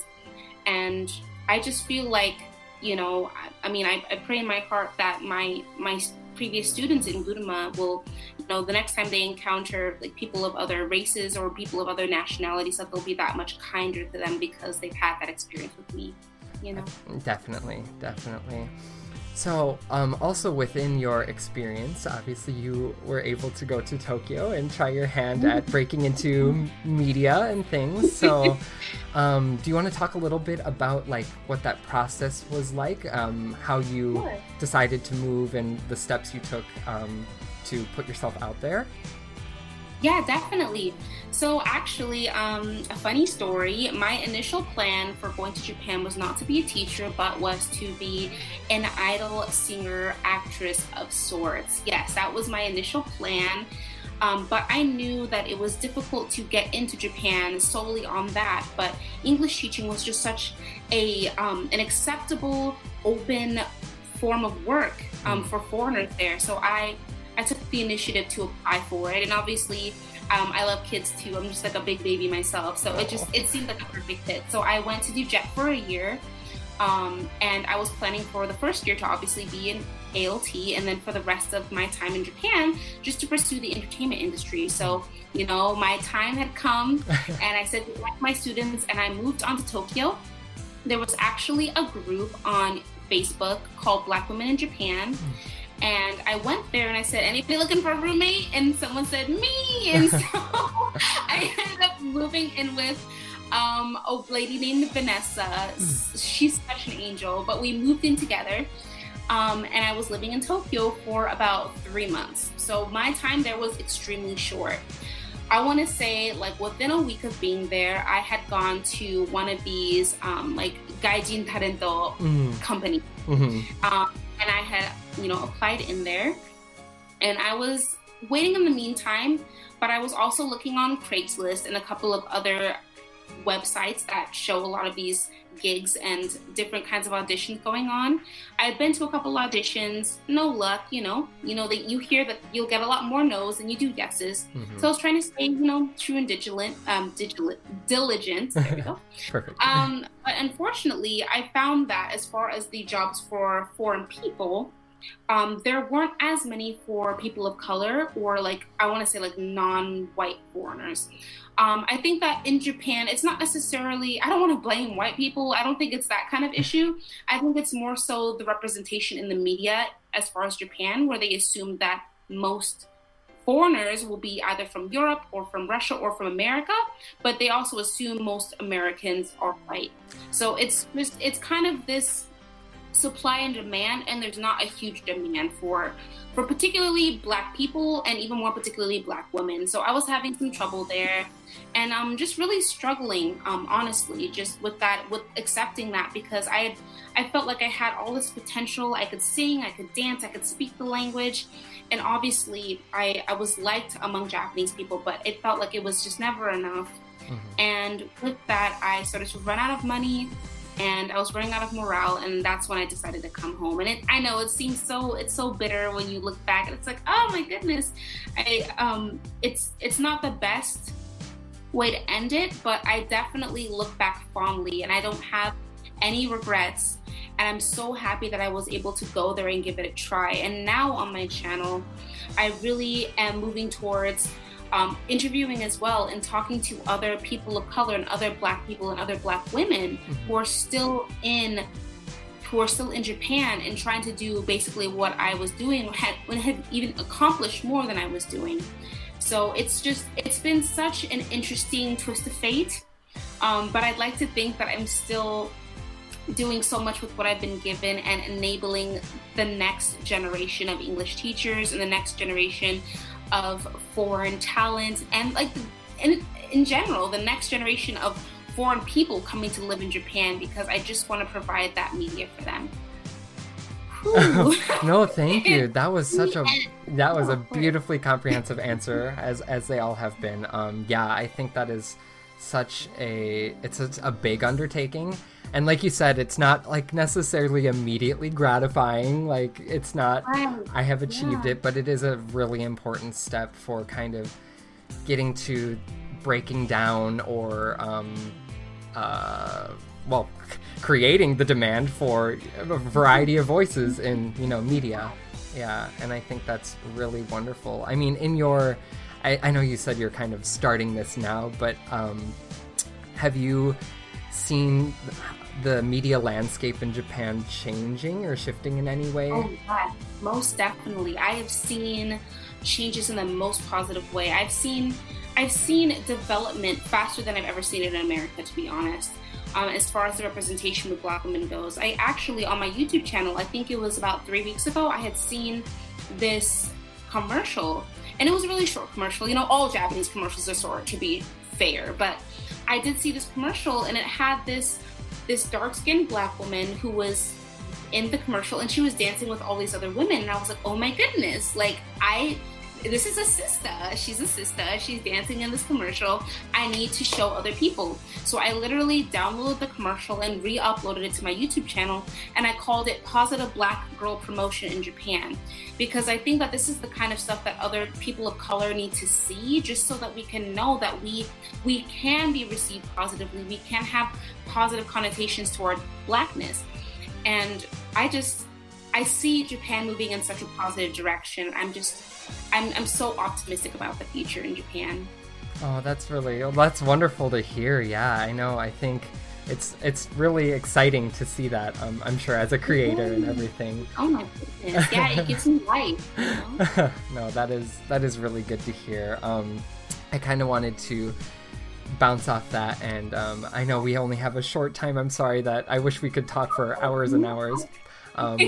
And I just feel like, you know, I, I mean, I, I pray in my heart that my my previous students in Guruma will, you know, the next time they encounter like people of other races or people of other nationalities, that they'll be that much kinder to them because they've had that experience with me, you know? Definitely, definitely. So, um, also within your experience, obviously you were able to go to Tokyo and try your hand at breaking into media and things. So, um, do you want to talk a little bit about like what that process was like, um, how you sure. decided to move and the steps you took um, to put yourself out there? Yeah, definitely. So actually, um, a funny story, my initial plan for going to Japan was not to be a teacher, but was to be an idol singer, actress of sorts. Yes, that was my initial plan. Um, but I knew that it was difficult to get into Japan solely on that. But English teaching was just such a um, an acceptable, open form of work um, for foreigners there. So I I took the initiative to apply for it, and obviously um, I love kids too. I'm just like a big baby myself, so it just it seemed like a perfect fit. So I went to do J E T for a year, um, and I was planning for the first year to obviously be an A L T, and then for the rest of my time in Japan, just to pursue the entertainment industry. So, you know, my time had come, and I said goodbye to my students, and I moved on to Tokyo. There was actually a group on Facebook called Black Women in Japan. Mm. And I went there and I said, anybody looking for a roommate? And someone said, me. And so I ended up moving in with um, a lady named Vanessa. Mm. She's such an angel, but we moved in together. Um, and I was living in Tokyo for about three months. So my time there was extremely short. I want to say, like, within a week of being there, I had gone to one of these, um, like, gaijin talento mm. companies. Mm-hmm. Um, and I had, you know, applied in there. And I was waiting in the meantime, but I was also looking on Craigslist and a couple of other websites that show a lot of these gigs and different kinds of auditions going on. I had been to a couple auditions, no luck, you know, you know that you hear that you'll get a lot more no's than you do yeses. Mm-hmm. So I was trying to stay, you know, true and diligent, um, diligent, diligent. There we go. Perfect. Um, but unfortunately, I found that as far as the jobs for foreign people, um, there weren't as many for people of color or like, I want to say like non-white foreigners. Um, I think that in Japan, it's not necessarily, I don't want to blame white people. I don't think it's that kind of issue. I think it's more so the representation in the media as far as Japan, where they assume that most foreigners will be either from Europe or from Russia or from America, but they also assume most Americans are white. So it's just, it's kind of this supply and demand, and there's not a huge demand for for particularly Black people, and even more particularly Black women. So I was having some trouble there, and I'm um, just really struggling, um, honestly, just with that, with accepting that, because I had, I felt like I had all this potential. I could sing, I could dance, I could speak the language, and obviously I, I was liked among Japanese people, but it felt like it was just never enough. Mm-hmm. And with that, I started to run out of money, and I was running out of morale, and that's when I decided to come home. And it, I know it seems so, it's so bitter when you look back, and it's like, oh my goodness, I um, it's it's not the best way to end it, but I definitely look back fondly, and I don't have any regrets. And I'm so happy that I was able to go there and give it a try. And now on my channel, I really am moving towards Um, interviewing as well, and talking to other people of color and other Black people and other Black women mm-hmm. who are still in who are still in Japan, and trying to do basically what I was doing, had, when had even accomplished more than I was doing. So it's just, it's been such an interesting twist of fate. Um, but I'd like to think that I'm still doing so much with what I've been given, and enabling the next generation of English teachers and the next generation of foreign talent, and like in, in general, the next generation of foreign people coming to live in Japan, because I just want to provide that media for them. No, thank you. That was such a that was a beautifully comprehensive answer, as as they all have been. Um, yeah, I think that is such a it's a, a big undertaking. And like you said, it's not like necessarily immediately gratifying. Like it's not, I have achieved yeah. it, but it is a really important step for kind of getting to breaking down or, um, uh, well, c- creating the demand for a variety of voices in, you know, media. Yeah. And I think that's really wonderful. I mean, in your, I, I know you said you're kind of starting this now, but um, have you seen the media landscape in Japan changing or shifting in any way? Oh, yeah, most definitely. I have seen changes in the most positive way. I've seen I've seen development faster than I've ever seen it in America, to be honest. Um, as far as the representation with Black women goes, I actually, on my YouTube channel, I think it was about three weeks ago, I had seen this commercial, and it was a really short commercial. You know, all Japanese commercials are short, to be fair, but I did see this commercial, and it had this this dark-skinned Black woman who was in the commercial, and she was dancing with all these other women, and I was like, oh my goodness, like, I, this is a sister, she's a sister, she's dancing in this commercial, I need to show other people. So I literally downloaded the commercial and re-uploaded it to my YouTube channel, and I called it Positive Black Girl Promotion in Japan, because I think that this is the kind of stuff that other people of color need to see, just so that we can know that we we can be received positively, we can have positive connotations toward Blackness. And I just, I see Japan moving in such a positive direction. I'm just, I'm, I'm so optimistic about the future in Japan. Oh, that's really, oh, that's wonderful to hear. Yeah, I know. I think it's it's really exciting to see that. Um, I'm sure as a creator and everything. Oh my goodness! Yeah, it gives me life. You know? No, that is that is really good to hear. Um, I kind of wanted to bounce off that, and um, I know we only have a short time. I'm sorry that I wish we could talk for hours and hours. Um,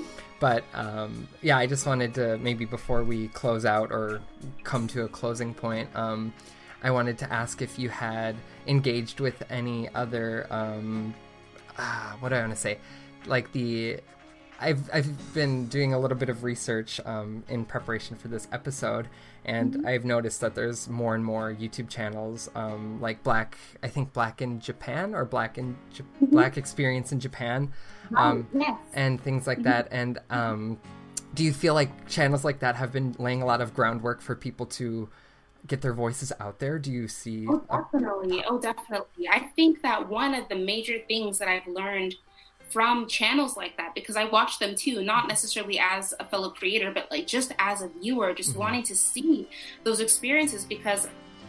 but um, yeah, I just wanted to, maybe before we close out or come to a closing point, um, I wanted to ask if you had engaged with any other, um, uh, what do I want to say, like the, I've I've been doing a little bit of research um, in preparation for this episode, and mm-hmm. I've noticed that there's more and more YouTube channels, um, like Black, I think Black in Japan or Black in J- mm-hmm. Black Experience in Japan, um, oh, yes. and things like mm-hmm. that. And um, do you feel like channels like that have been laying a lot of groundwork for people to get their voices out there? Do you see? Oh, definitely. Oh, definitely. I think that one of the major things that I've learned from channels like that, because I watch them too, not necessarily as a fellow creator, but like just as a viewer, just mm-hmm. wanting to see those experiences. Because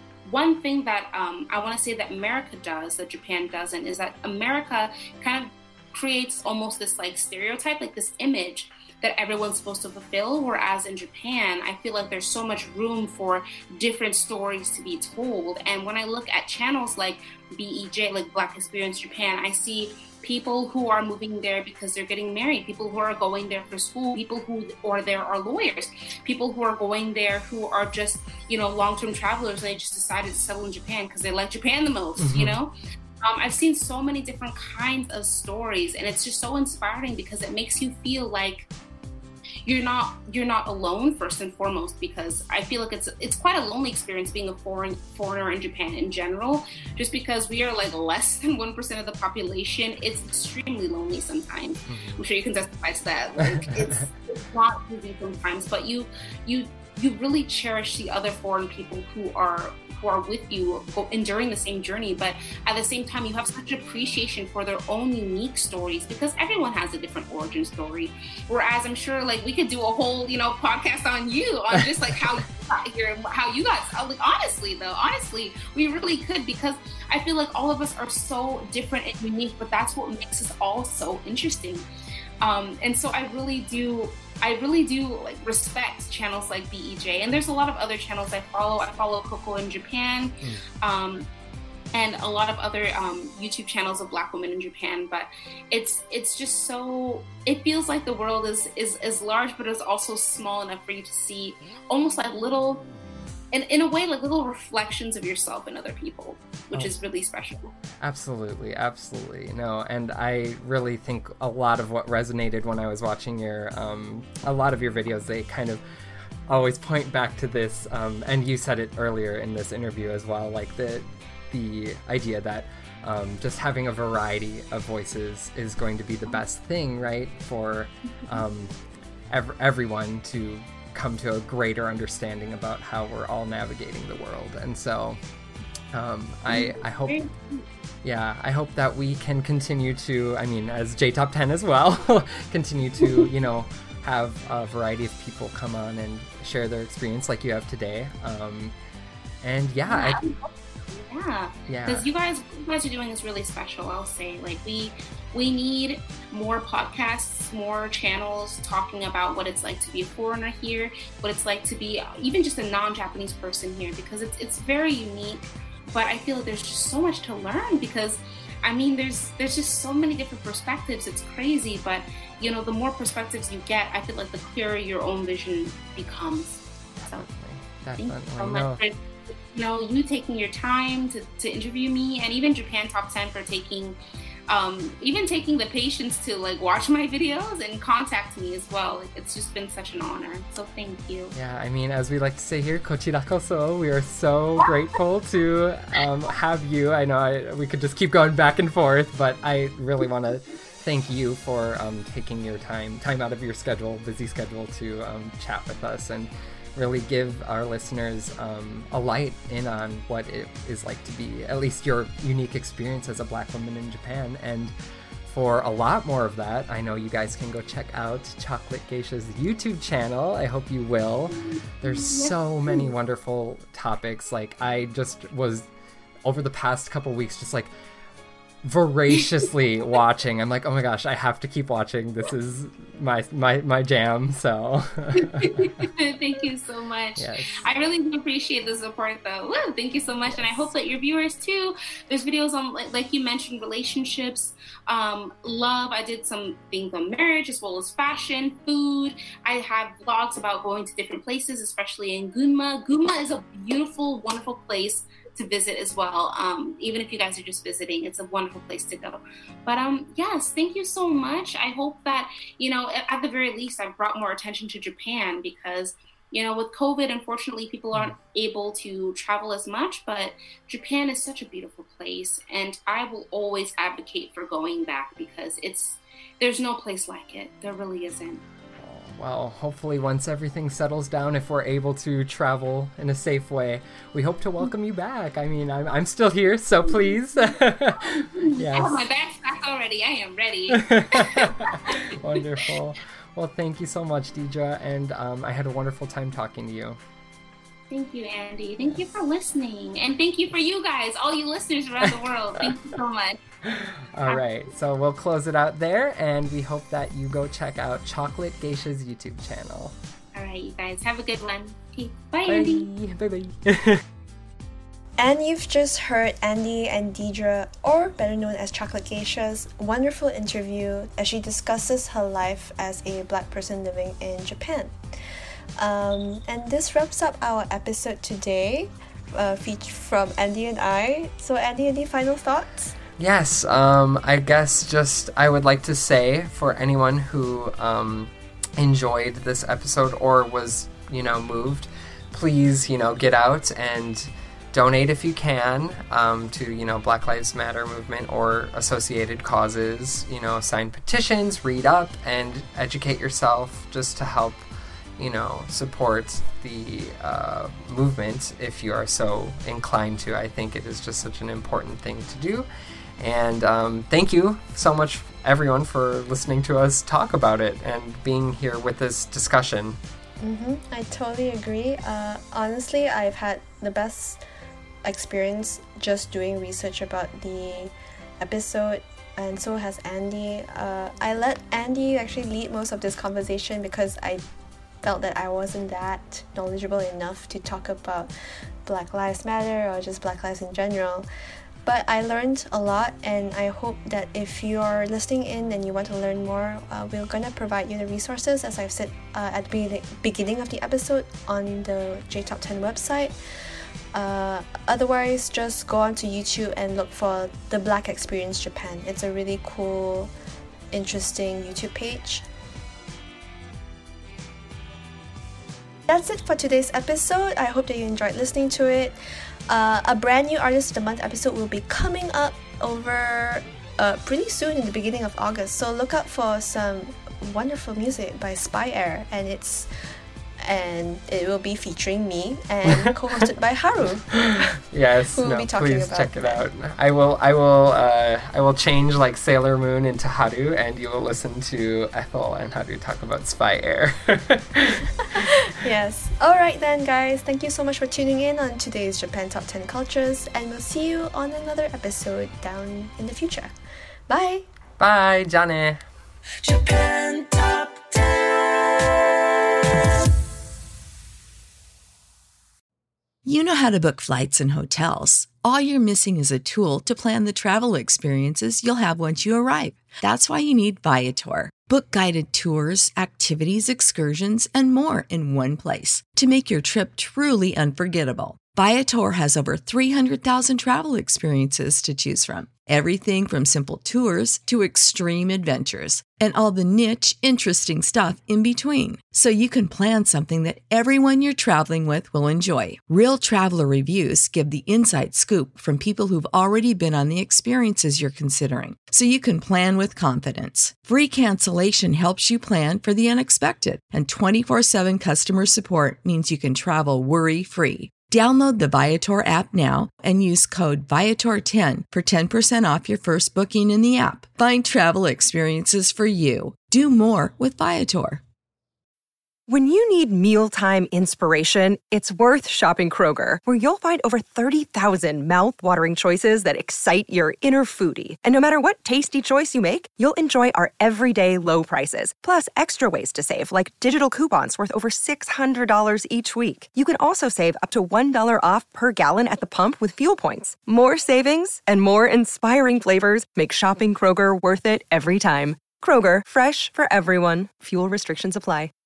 one thing that um, I want to say that America does, that Japan doesn't, is that America kind of creates almost this like stereotype, like this image that everyone's supposed to fulfill, whereas in Japan, I feel like there's so much room for different stories to be told. And when I look at channels like B E J, like Black Experience Japan, I see people who are moving there because they're getting married, people who are going there for school, people who are there are lawyers, people who are going there who are just, you know, long-term travelers, and they just decided to settle in Japan because they like Japan the most, mm-hmm. you know? Um, I've seen so many different kinds of stories, and it's just so inspiring because it makes you feel like you're not you're not alone, first and foremost, because I feel like it's it's quite a lonely experience being a foreign foreigner in Japan in general, just because we are like less than one percent of the population. It's extremely lonely sometimes. Mm-hmm. I'm sure you can testify to that. Like it's, it's not easy sometimes, but you you you really cherish the other foreign people who are who are with you enduring the same journey, but at the same time you have such appreciation for their own unique stories, because everyone has a different origin story. Whereas I'm sure like we could do a whole, you know, podcast on you, on just like how you got here, how you got, like honestly though, honestly, we really could, because I feel like all of us are so different and unique, but that's what makes us all so interesting. Um, and so I really do I really do like respect channels like B E J, and there's a lot of other channels I follow. I follow Coco in Japan, mm. um, and a lot of other um, YouTube channels of Black women in Japan. But it's it's just so, it feels like the world is is is large, but it's also small enough for you to see almost like little, in in a way, like little reflections of yourself in other people, which oh. is really special. Absolutely, absolutely. No, and I really think a lot of what resonated when I was watching your, um, a lot of your videos, they kind of always point back to this, um, and you said it earlier in this interview as well, like the the idea that um, just having a variety of voices is going to be the best thing, right, for um, ev- everyone to come to a greater understanding about how we're all navigating the world. And so um, I, I hope, yeah, I hope that we can continue to, I mean, as J Top ten as well, continue to, you know, have a variety of people come on and share their experience like you have today. Um, and yeah, yeah. I, Yeah, yeah. Because you guys, what you guys are doing is really special. I'll say, like we, we need more podcasts, more channels talking about what it's like to be a foreigner here, what it's like to be even just a non-Japanese person here, because it's it's very unique. But I feel like there's just so much to learn, because I mean, there's there's just so many different perspectives. It's crazy, but you know, the more perspectives you get, I feel like the clearer your own vision becomes. So, Definitely. thank you so much for, you know, you taking your time to, to interview me, and even Japan Top ten for taking, um, even taking the patience to like watch my videos and contact me as well. Like, it's just been such an honor. So thank you. Yeah, I mean, as we like to say here, kochira koso, we are so grateful to um, have you. I know I, we could just keep going back and forth, but I really want to thank you for um, taking your time, time out of your schedule, busy schedule, to um, chat with us and really give our listeners um, a light in on what it is like to be, at least your unique experience as a Black woman in Japan. And for a lot more of that, I know you guys can go check out Chocolate Geisha's YouTube channel. I hope you will. There's so many wonderful topics. Like, I just was, over the past couple weeks, just like voraciously watching. I'm like, oh my gosh, I have to keep watching. This is my my my jam. So thank you so much. Yes. I really do appreciate the support though. Woo, thank you so much. And I hope that your viewers too. There's videos on, like, like you mentioned, relationships, um, love. I did some things on marriage as well as fashion, food. I have vlogs about going to different places, especially in Gunma. Gunma is a beautiful, wonderful place to visit as well. Um, even if you guys are just visiting, it's a wonderful place to go. But um, yes, thank you so much. I hope that, you know, at, at the very least, I've brought more attention to Japan, because, you know, with COVID, unfortunately, people aren't able to travel as much, but Japan is such a beautiful place, and I will always advocate for going back, because it's, there's no place like it. There really isn't. well, hopefully once everything settles down, if we're able to travel in a safe way, we hope to welcome you back. I mean, I'm, I'm still here, so please. Yes. I have my bags packed already. I am ready. Wonderful. Well, thank you so much, Deidre, and um, I had a wonderful time talking to you. Thank you, Andy. Thank you for listening. And thank you for you guys, all you listeners around the world. Thank you so much. All right. So we'll close it out there, and we hope that you go check out Chocolate Geisha's YouTube channel. All right, you guys. Have a good one. Okay. Bye, Bye. Andy. Bye-bye. And you've just heard Andy and Deidre, or better known as Chocolate Geisha's, wonderful interview as she discusses her life as a Black person living in Japan. Um, and this wraps up our episode today, uh, featured from Andy and I. So Andy, any final thoughts? Yes, um, I guess just I would like to say for anyone who um, enjoyed this episode or was, you know, moved, please, you know, get out and donate if you can um, to, you know, Black Lives Matter movement or associated causes. You know, sign petitions, read up, and educate yourself just to help, you know, support the uh, movement if you are so inclined to. I think it is just such an important thing to do. And um, thank you so much, everyone, for listening to us talk about it and being here with this discussion. Mm-hmm. I totally agree. Uh, honestly, I've had the best experience just doing research about the episode, and so has Andy. Uh, I let Andy actually lead most of this conversation because I felt that I wasn't that knowledgeable enough to talk about Black Lives Matter or just Black lives in general. But I learned a lot, and I hope that if you're listening in and you want to learn more, uh, we're going to provide you the resources, as I've said uh, at the be- beginning of the episode, on the J Top ten website. Uh, otherwise, just go onto YouTube and look for The Black Experience Japan. It's a really cool, interesting YouTube page. That's it for today's episode. I hope that you enjoyed listening to it. Uh, a brand new Artist of the Month episode will be coming up over uh, pretty soon in the beginning of August. So look out for some wonderful music by Spy Air, and it's and it will be featuring me and co-hosted by Haru. Yes, who will no, be talking please about check it that. out. I will, I will, uh, I will change like Sailor Moon into Haru, and you will listen to Ethel and Haru talk about Spy Air. Yes. Alright then, guys. Thank you so much for tuning in on today's Japan Top ten Cultures, and we'll see you on another episode down in the future. Bye! Bye, Jane. Japan Top ten. You know how to book flights and hotels. All you're missing is a tool to plan the travel experiences you'll have once you arrive. That's why you need Viator. Book guided tours, activities, excursions, and more in one place to make your trip truly unforgettable. Viator has over three hundred thousand travel experiences to choose from. Everything from simple tours to extreme adventures, and all the niche, interesting stuff in between. So you can plan something that everyone you're traveling with will enjoy. Real traveler reviews give the inside scoop from people who've already been on the experiences you're considering, so you can plan with confidence. Free cancellation helps you plan for the unexpected, and twenty-four seven customer support means you can travel worry-free. Download the Viator app now and use code Viator ten for ten percent off your first booking in the app. Find travel experiences for you. Do more with Viator. When you need mealtime inspiration, it's worth shopping Kroger, where you'll find over thirty thousand mouth-watering choices that excite your inner foodie. And no matter what tasty choice you make, you'll enjoy our everyday low prices, plus extra ways to save, like digital coupons worth over six hundred dollars each week. You can also save up to one dollar off per gallon at the pump with fuel points. More savings and more inspiring flavors make shopping Kroger worth it every time. Kroger, fresh for everyone. Fuel restrictions apply.